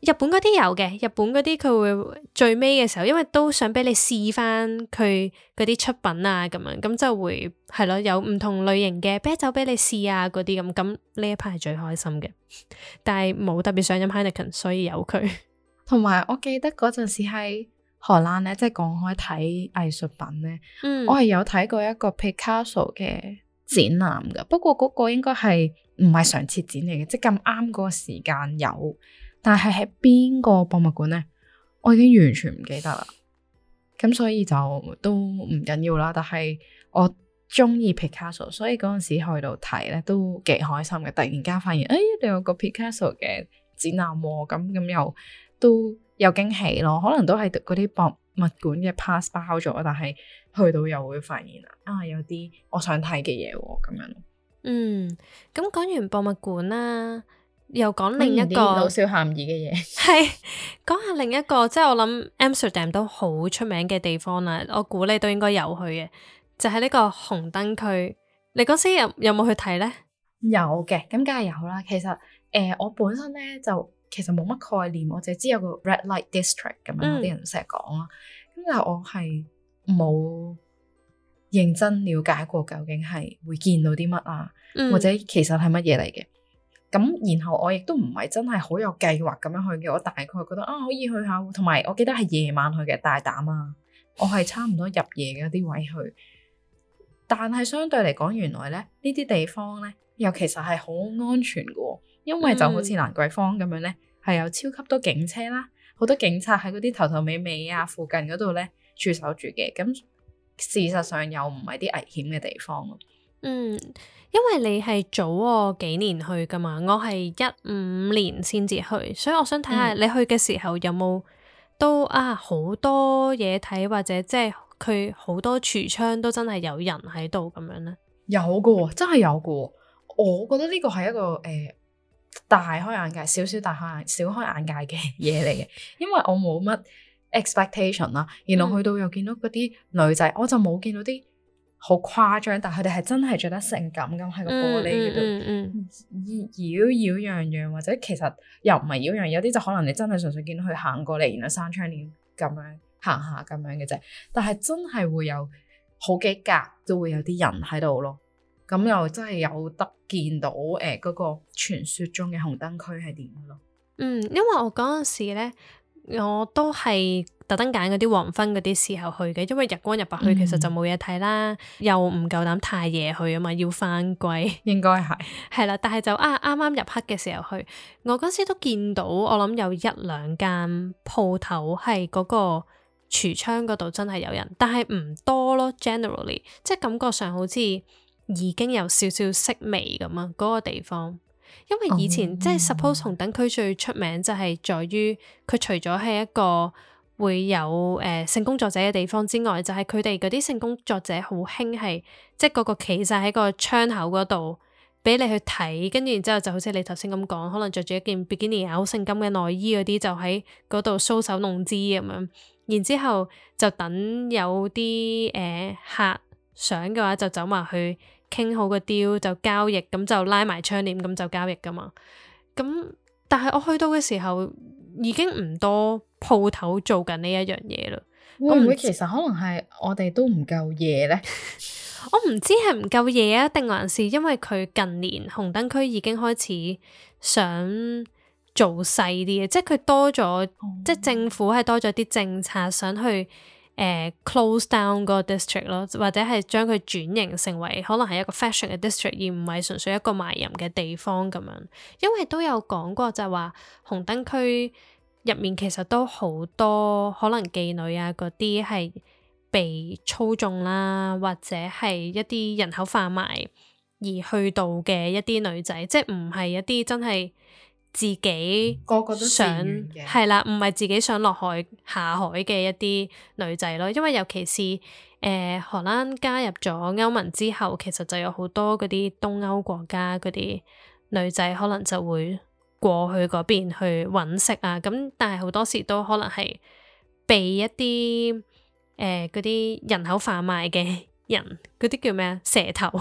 日本嗰啲有嘅，日本嗰啲佢會最尾嘅時候，因為都想俾你試翻佢嗰啲出品啊，咁樣咁就會係咯，有唔同類型嘅啤酒俾你試啊，嗰啲咁，咁呢一 part 係最開心嘅。但係冇特別想飲 Heineken，所以有佢。 同埋我記得嗰陣時喺荷蘭咧，即係講開睇藝術品咧，嗯、我係有睇過一個 Picasso 嘅展覽噶，不過嗰個應該係唔係常設展嚟嘅，即係咁啱嗰個時間有。但係喺邊個博物館呢？我已經完全唔記得啦。咁所以就都唔緊要啦。但係我中意 Picasso，所以嗰陣時去到睇咧都幾開心嘅。突然間發現，誒、哎，你有個 Picasso 嘅展覽喎，咁咁又都有驚喜咯。可能都係嗰啲博物館嘅 pass 包咗，但係去到又會發現啊，有啲我想睇嘅嘢咁樣。 嗯，咁講完博物館啦。又講另一個老少咸宜嘅嘢， 係講下另一個，即係我諗 Amsterdam 都好出名嘅地方啦。我估你都應該有去嘅，就係、是、呢個紅燈區。你嗰時有有冇去睇呢？ 有嘅，咁梗係有啦。其實誒、呃，我本身咧就其實冇乜概念，我淨係知有個 Red Light District 咁樣，啲、嗯、人成日講啦。咁但係我係冇認真了解過究竟係會見到啲乜啊，嗯、或者其實係乜嘢嚟嘅。咁然後我亦都唔係真係好有計劃咁樣去嘅，我大概覺得啊可以去下，同埋我記得係夜晚去嘅，大膽啊！我係差唔多入夜嘅啲位去，但係相對嚟講，原來咧呢啲地方咧又其實係好安全嘅，因為就好似蘭桂坊咁樣咧，係、嗯、有超級多警車啦，好多警察喺嗰啲頭頭尾尾啊附近嗰度咧駐守住嘅，咁事實上又唔係啲危險嘅地方咯。 嗯，因為你係早我幾年去噶嘛，我係一五年先至去，所以我想睇下你去嘅時候有冇都啊好多嘢睇，或者即係佢好多櫥窗都真係有人喺度咁樣呢？ 有嘅，真係有嘅。我覺得呢個係一個誒、呃、大開眼界，少少大開眼小開眼界嘅嘢嚟嘅，因為我冇乜 expectation 啦，然後去到又見到嗰啲女仔，嗯、我就冇見到啲好誇張，但佢哋係真係着得性感咁喺個玻璃嗰度妖妖樣樣，或者其實又唔係妖樣，有啲就可能你真係純粹見到佢行過嚟，然後閂窗簾咁樣行下咁樣嘅啫。但係真係會有好幾格都會有啲人喺度咯，咁又真係有得見到誒嗰、呃嗰個傳說中嘅紅燈區係點咯。 嗯，因為我嗰陣時咧，我都係特登揀嗰啲黃昏嗰啲時候去嘅，因為日光日白去其實就冇嘢睇啦，嗯、又唔夠膽太夜去啊嘛，要返歸。應該係係啦，但係就啊啱啱入黑嘅時候去，我嗰時都見到，我諗有一兩間鋪頭係嗰個櫥窗嗰度真係有人，但係唔多咯。Generally，即係感覺上好似已經有少少式微咁啊，嗰個地方。因為以前、oh. 即係 suppose 紅燈區最出名就係在於佢除咗係一個會有誒、呃、性工作者嘅地方之外，就係佢哋嗰啲性工作者好興係即係嗰個企晒喺個窗口嗰度俾你去睇，跟住然之後就好似你頭先咁講，可能着住一件比基尼好性感嘅內衣嗰啲就喺嗰度搔首弄姿咁樣，然之後就等有啲誒、呃、客想嘅話就走埋去傾好個 deal 就交易，咁就拉埋窗簾咁就交易噶嘛。咁但係我去到嘅時候已經唔多鋪頭做緊呢一樣嘢啦。 會唔會其實可能係我哋都唔夠夜呢？ 我唔知係唔夠夜啊，定還是因為佢近年紅燈區已經開始想做細啲嘅，即係佢多咗，嗯、即係政府係多咗啲政策想去。誒、uh, close down 個 district 咯，或者係將佢轉型成為可能係一個 fashion 嘅 district，而唔係純粹一個賣淫嘅地方咁樣。因為都有講過就係話紅燈區入面其實都好多可能妓女啊嗰啲係被操縱啦，或者係一啲人口販賣而去到嘅一啲女仔，即係唔係一啲真係自己個個都想係啦，唔係自己想落海下海嘅一啲女仔咯。因為尤其是誒、呃、荷蘭加入咗歐盟之後，其實就有好多嗰啲東歐國家嗰啲女仔可能就會過去嗰邊去揾食啊。咁但係好多時都可能係被一啲誒嗰啲人口販賣嘅人，嗰啲叫咩啊？蛇頭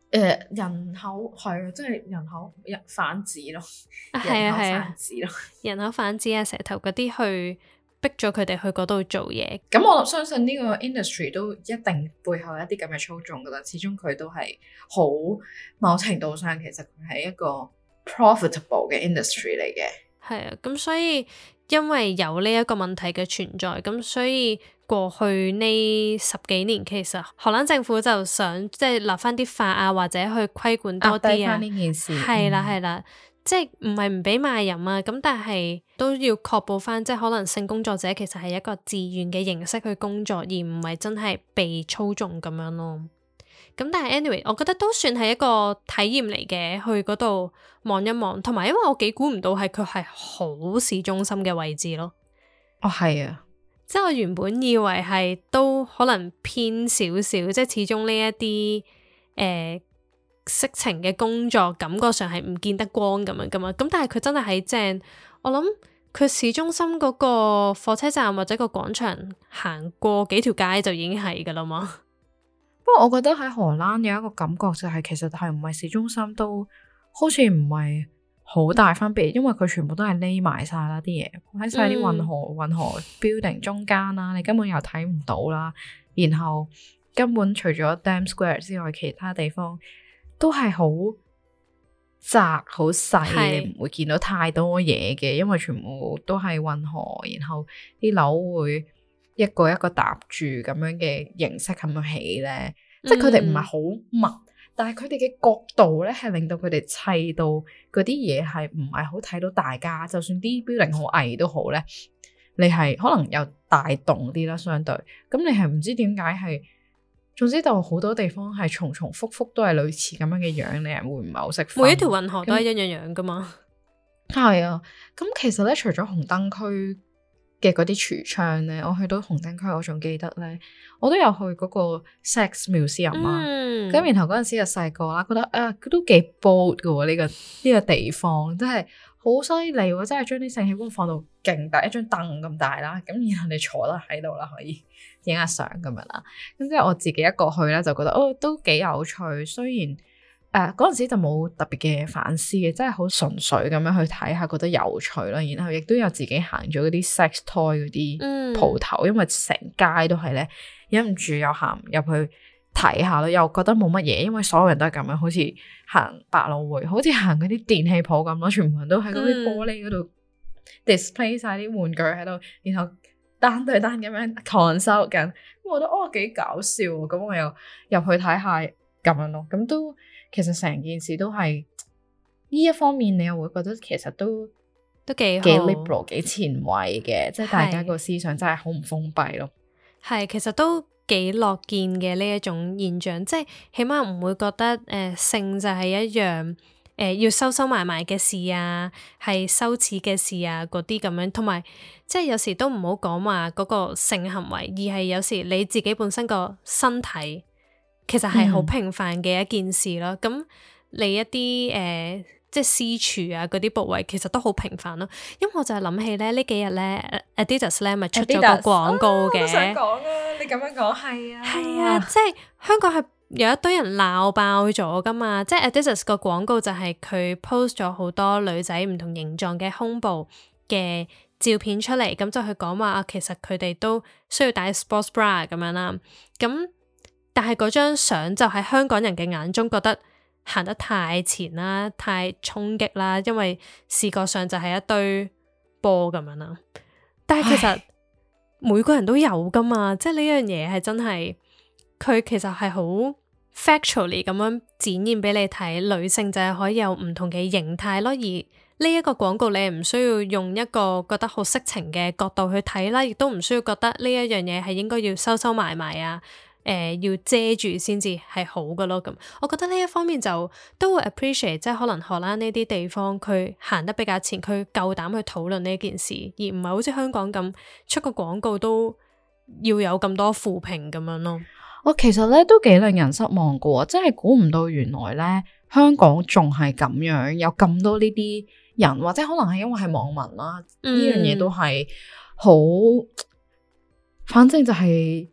誒、呃、人口係啊，即係人口人販子咯， 啊係啊係人口啊販子咯， 人口販子啊，蛇頭嗰啲去逼咗佢哋去嗰度做嘢。 咁我相信呢個 industry 都一定背後有一啲咁嘅操縱噶啦，始終佢都係好某程度上其實佢係一個 profitable 嘅 industry 嚟嘅。 係啊，咁所以因為有呢一個問題嘅存在，咁所以過去呢十幾年其實荷蘭政府就想即係立翻啲法啊，或者去規管多啲啊。 呢件事係啦係啦，即係唔係唔俾賣淫啊，咁但係都要確保翻，即係可能性工作者其實係一個自願嘅形式去工作，而唔係真係被操縱咁樣咯。咁但係 anyway，我覺得都算係一個體驗嚟嘅，去嗰度望一望，同埋因為我幾估唔到係佢係好市中心嘅位置咯。 哦，係啊， 即係我原本以為係都可能偏少少，即係始終呢一啲誒色情嘅工作感覺上係唔見得光咁樣噶嘛。咁但係佢真係喺正，我諗佢市中心嗰個火車站或者個廣場行過幾條街就已經係噶啦嘛。 不過我覺得喺荷蘭有一個感覺就係其實係唔係市中心都好似唔係好大分別，因為佢全部都係匿埋晒啦，啲嘢喺晒啲運河運河 building 中間啦，你根本又睇唔到啦。然後根本除咗 Dam Square 之外，其他地方都係好窄好細，你唔會見到太多嘢嘅，因為全部都係運河，然後啲樓會一個一個搭住咁樣嘅形式咁樣起咧，嗯、即係佢哋唔係好密，但係佢哋嘅角度咧係令到佢哋砌到嗰啲嘢係唔係好睇到大家，就算啲 building 好矮都好咧，你係可能有大棟啲啦，相對咁你係唔知點解係，總之就好多地方係重重複複都係類似咁樣嘅樣，你係會唔係好識分？ 每一條運河都係一樣樣噶嘛？ 係啊，咁其實咧除咗紅燈區嘅嗰啲櫥窗咧，我去到紅燈區，我仲記得咧，我都有去嗰個 Sex Museum 啊。咁、嗯、然後嗰陣時就細個啦，覺得啊，佢都幾 bold 嘅喎，呢、呢個呢、呢個地方真係好犀利喎，真係將啲性器官放到勁大，一張凳咁大啦，咁然後你坐得喺度啦，可以影下相咁樣啦。咁即係我自己一個去咧，就覺得哦都幾有趣，雖然。誒嗰陣時就冇特別嘅反思嘅，真係好純粹咁樣去睇下，覺得有趣啦。然後亦都有自己行咗嗰啲 sex toy 嗰啲鋪頭，嗯、因為成街都係咧，忍唔住又行入去睇下咯，又覺得冇乜嘢，因為所有人都係咁樣，好似行百老匯，好似行嗰啲電器鋪咁咯，全部人都喺嗰啲玻璃嗰度 display 晒啲玩具喺度，然後單對單咁樣 consult 緊，我覺得哦幾搞笑，咁我又入去睇下咁樣咯，咁都。其實成件事都係呢一方面，你又會覺得其實都都幾幾 liberal 幾前衛嘅，即係大家個思想真係好唔封閉咯。 係，其實都幾樂見嘅呢一種現象，即係起碼唔會覺得誒、呃、性就係一樣誒、呃、要收收埋埋嘅事啊，係羞恥嘅事啊嗰啲咁樣，同埋即係有時都唔好講話嗰個性行為，而係有時你自己本身個身體。其實係好平凡嘅一件事咯，咁、嗯、你一啲誒、呃、即係私處啊嗰啲部位，其實都好平凡咯。因為我就係諗起咧呢幾日咧 Adidas 咧咪出咗個廣告嘅， 我想講啊，你咁樣講係啊， 係啊，即係香港係有一堆人鬧爆咗噶嘛。即係 Adidas 個廣告就係佢 post 咗好多女仔唔同形狀嘅胸部嘅照片出嚟，咁就去講話啊，其實佢哋都需要戴 sports bra 咁樣啦，咁。但係嗰張相就喺香港人嘅眼中覺得行得太前啦，太衝擊啦，因為視覺上就係一堆波咁樣啦。但係其實每個人都有噶嘛，即係呢樣嘢係真係佢其實係好 factually 咁樣展現俾你睇，女性就係可以有唔同嘅形態咯。而呢一個廣告你係唔需要用一個覺得好色情嘅角度去睇啦，亦都唔需要覺得呢一樣嘢係應該要收收埋埋啊。誒、呃，要遮住先至係好嘅咯，咁我覺得呢一方面就都會 appreciate，即係可能荷蘭呢啲地方佢行得比較前，佢夠膽去討論呢件事，而唔係好似香港咁出個廣告都要有咁多負評咁樣咯。 我其實咧都幾令人失望嘅，真係估唔到原來咧香港仲係咁樣，有咁多呢啲人，或者可能係因為係網民啦，呢、嗯、樣嘢都係好，反正就係、是。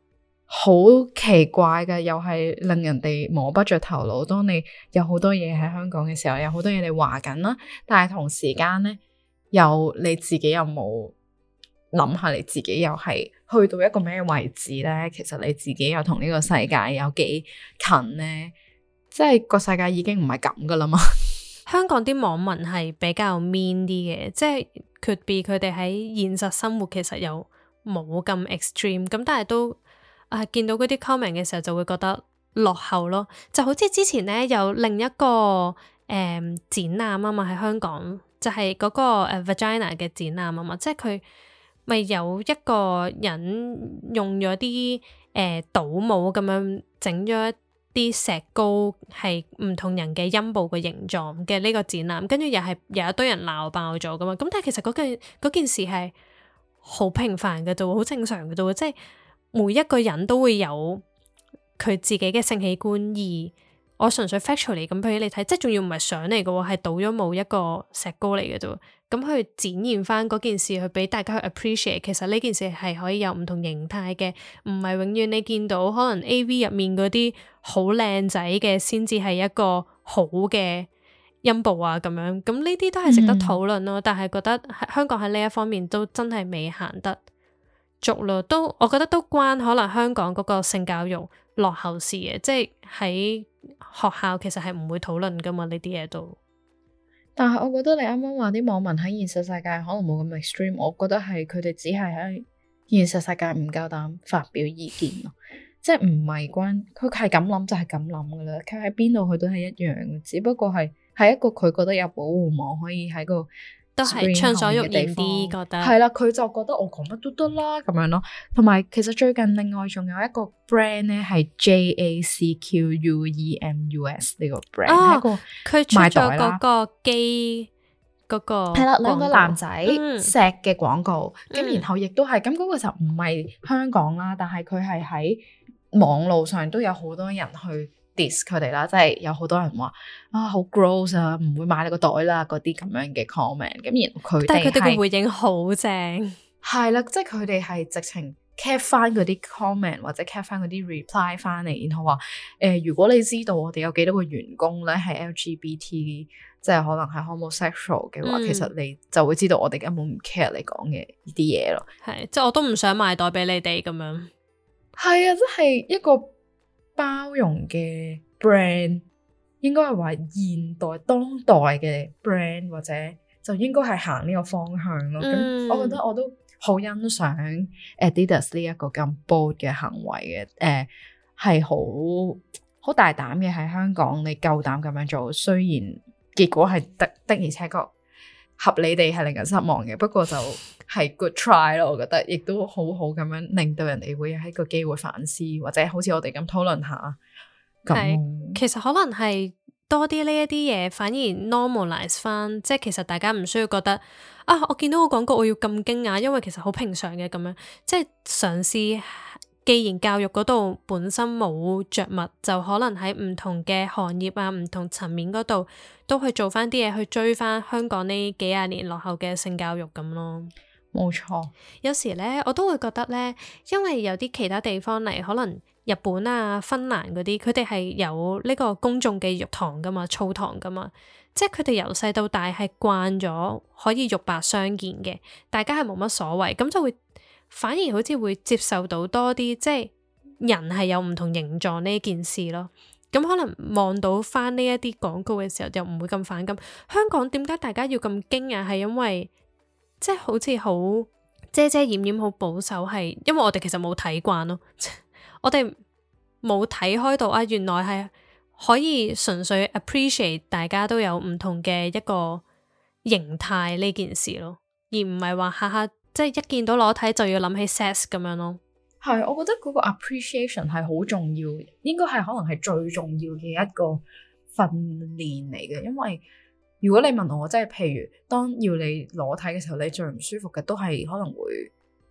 好奇怪嘅，又係令人哋摸不着頭腦。當你有好多嘢喺香港嘅時候，有好多嘢你話緊啦，但係同時間咧，又你自己有冇諗下你自己又係去到一個咩位置咧？其實你自己又同呢個世界有幾近咧？即係個世界已經唔係咁噶啦嘛。 香港啲網民係比較 mean 啲嘅，即係 could be 佢哋喺現實生活其實又冇咁 extreme，咁但係都啊見到嗰啲 comment 嘅時候就會覺得落後咯。就好似之前咧有另一個誒、嗯、展覽啊嘛，喺香港就係、是、嗰個誒 vagina 嘅展覽啊嘛，即係佢咪有一個人用咗啲誒倒模咁樣整咗一啲石膏係唔同人嘅陰部嘅形狀嘅呢個展覽，跟住又係有一堆人鬧爆咗噶嘛。咁但係其實嗰件嗰件事係好平凡嘅啫，好正常嘅啫，即係每一個人都會有佢自己嘅性器官，而我純粹 factually 咁俾你睇，即係仲要唔係相嚟嘅喎，係倒咗冇一個石膏嚟嘅啫。咁去展現翻嗰件事，去俾大家去 appreciate。其實呢件事係可以有唔同形態嘅，唔係永遠你見到可能 A V 入面嗰啲好靚仔嘅先至係一個好嘅陰部啊咁樣。咁呢啲都係值得討論咯。嗯、但係覺得香港喺呢一方面都真係未行得足咯。都我覺得都關可能香港嗰個性教育落後事嘅，即係喺學校其實係唔會討論噶嘛呢啲嘢都。 但係我覺得你啱啱話啲網民喺現實世界可能冇咁 extreme，我覺得係佢哋只係喺現實世界唔夠膽發表意見咯，即係唔係關佢係咁諗就係咁諗噶啦，佢喺邊度佢都係一樣嘅，只不過係係一個佢覺得有保護網可以喺個都係暢所欲言啲，覺得係啦，佢就覺得我講乜都得啦咁樣咯。同埋其實最近另外仲有一個 brand 咧係 J A C Q U E M U S 呢個 brand，係、哦、一個佢出咗嗰個機嗰個係啦，兩個男仔嗯錫嘅廣告，咁、嗯、然後亦都係咁嗰個就唔係香港啦，但係佢係喺網路上都有好多人去diss 佢哋啦，即係有好多人話啊好 gross 啊，唔會買你個袋啦，嗰啲咁樣嘅 comment。咁然後佢哋但係佢哋嘅回應好正， 係啦，即係佢哋係直情 cap 翻嗰啲 comment 或者 cap 翻嗰啲 reply 翻嚟，然後話誒、呃，如果你知道我哋有幾多個員工咧係 L G B T， 即係可能係 homosexual 嘅話，嗯、其實你就會知道我哋根本唔 care 你講嘅呢啲嘢咯。 係，即係我都唔想買袋俾你哋咁樣。 係啊，即係一個包容嘅 brand， 應該係話現代當代嘅 brand， 或者就應該係行呢個方向咯。咁、嗯、我覺得我都好欣賞 Adidas 呢一個咁 bold 嘅行為嘅，誒係好好大膽嘅喺香港你夠膽咁樣做，雖然結果係的的而且確合理地係令人失望嘅，不過就係 good try 咯，我覺得亦都好好咁樣令到人哋會有一個機會反思，或者好似我哋咁討論下。 係，其實可能係多啲呢一啲嘢，反而 normalize 翻，即係其實大家唔需要覺得啊，我見到個廣告我要咁驚訝，因為其實好平常嘅咁樣，即係嘗試。既然教育嗰度本身冇着墨，就可能喺唔同嘅行業啊、唔同層面嗰度都去做翻啲嘢，去追翻香港呢幾廿年落後嘅性教育咁咯。 冇錯， 有時咧我都會覺得咧，因為有啲其他地方嚟，可能日本啊、芬蘭嗰啲，佢哋係有呢個公眾嘅浴堂噶嘛、澡堂噶嘛，即係佢哋由細到大係慣咗可以肉白相見嘅，大家係冇乜所謂，咁就會。反而好似會接受到多啲，即係人係有唔同形狀呢件事咯。咁可能望到翻呢一啲廣告嘅時候，就唔會咁反感。香港點解大家要咁驚訝？係因為即係好似好遮遮掩掩、好保守，係因為我哋其實冇睇慣咯。我哋冇睇開到啊，原來係可以純粹 appreciate 大家都有唔同嘅一個形態呢件事咯，而唔係話下下。即係一見到裸體就要諗起 sex 咁樣咯。 係，我覺得嗰個 appreciation 係好重要，應該係可能係最重要嘅一個訓練嚟嘅。因為如果你問我，即係譬如當要你裸體嘅時候，你最唔舒服嘅都係可能會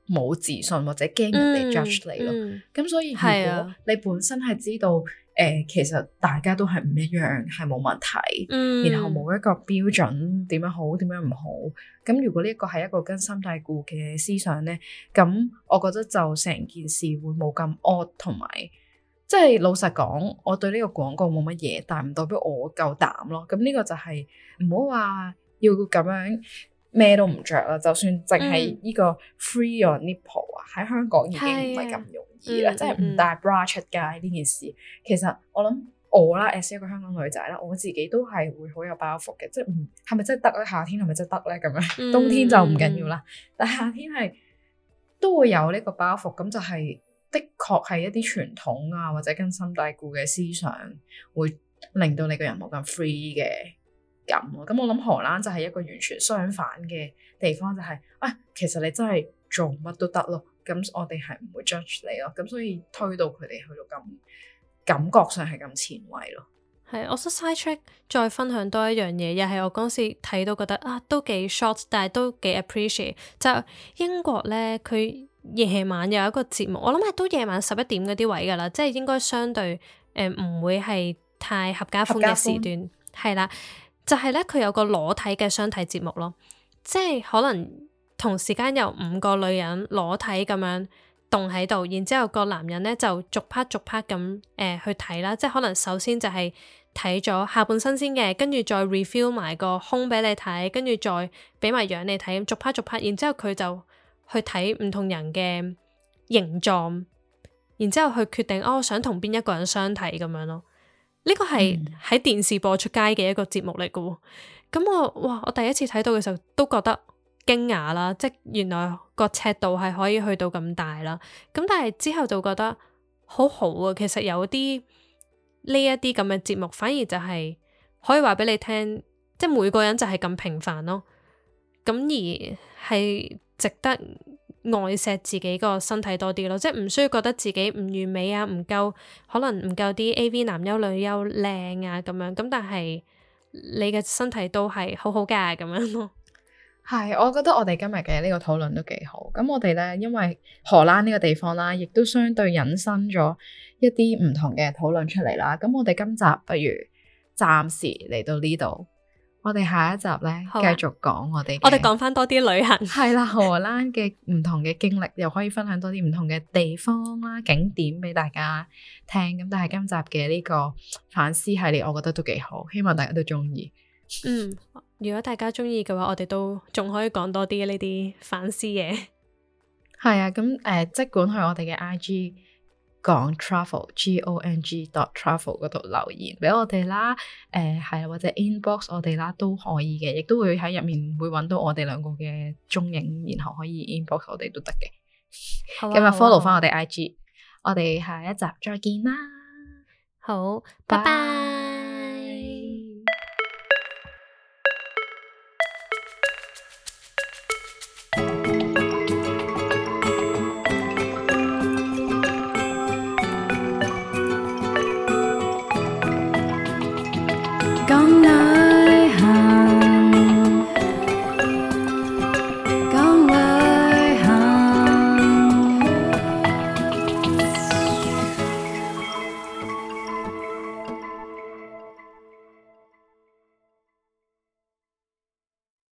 冇自信或者驚人哋 judge 你咯。咁、嗯、所以如果你本身係知道誒、呃，其實大家都係唔一樣，係冇問題，嗯、然後冇一個標準點樣好點樣唔好。咁如果呢一個係一個根深蒂固嘅思想咧，咁我覺得就成件事會冇咁 odd， 同埋即係老實講，我對呢個廣告冇乜嘢，但係唔代表我夠膽咯。咁呢個就係唔好話要咁樣。咩都唔着啦，就算淨係呢個 free your nipple 啊，喺香港已經唔係咁容易啦，即係唔帶 bra 出街呢件事。其實我諗我啦 as 一個香港女仔啦，我自己都係會好有包袱嘅，即係唔係咪真係得咧？夏天係咪真係得咧？咁樣冬天就唔緊要啦，但係夏天係都會有呢個包袱，咁就係的確係一啲傳統啊或者根深蒂固嘅思想，會令到你個人冇咁 free 嘅。咁咯，咁我諗荷蘭就係一個完全相反嘅地方，就係、是、啊，其實你真係做乜都得咯，咁我哋係唔會 judge 你咯，咁所以推到佢哋去到咁感覺上係咁前衛咯。 係，我想 side track 再分享多一樣嘢，又係我嗰時睇到覺得啊，都幾 short， 但係都幾 appreciate。就英國咧，佢夜晚有一個節目，我諗係都夜晚十一點嗰啲位噶啦，即係應該相對誒唔、呃、會係太合家歡嘅時段，係啦。就係咧，佢有個裸體嘅相睇節目咯，即係可能同時間有五個女人裸體咁樣動喺度，然之後個男人咧就逐 part 逐 part 咁誒去睇啦，即係可能首先就係睇咗下半身先嘅，跟住再 reveal 埋個胸俾你睇，跟住再俾埋樣你睇，逐 part 逐 part，然之後佢就去睇唔同人嘅形狀，然之後去決定哦，我想同邊一個人相睇咁樣咯。呢個係喺電視播出街嘅一個節目嚟嘅喎，咁我哇，我第一次睇到嘅時候都覺得驚訝啦，即係原來個尺度係可以去到咁大啦。咁但係之後就覺得好好啊，其實有啲呢一啲咁嘅節目，反而就係可以話俾你聽，即係每個人就係咁平凡咯。咁而係值得愛錫自己個身體多啲咯，即係唔需要覺得自己唔完美啊，唔夠可能唔夠啲 A V 男優女優靚啊咁樣，咁但係你嘅身體都係好好噶咁樣咯。 係，我覺得我哋今日嘅呢個討論都幾好。咁我哋咧，因為荷蘭呢個地方啦，亦都相對引申咗一啲唔同嘅討論出嚟啦。咁我哋今集不如暫時嚟到呢度。我哋下一集咧，繼、啊、續講我哋， 我哋講翻多啲旅行， 係啦，荷蘭嘅唔同嘅經歷，又可以分享多啲唔同嘅地方啦、景點俾大家聽。咁但係今集嘅呢個反思系列，我覺得都幾好，希望大家都中意。 嗯，如果大家中意嘅話，我哋都仲可以講多啲呢啲反思嘢。 係啊，咁誒、呃，即管去我哋嘅 I G。講 travel G O N G dot travel 嗰度留言俾我哋啦，誒、呃、係或者 inbox 我哋啦都可以嘅，亦都會喺入面會揾到我哋兩個嘅蹤影，然後可以 inbox 我哋都得嘅。咁啊 follow 翻我哋 I G，我哋下一集再見啦。 好，拜拜。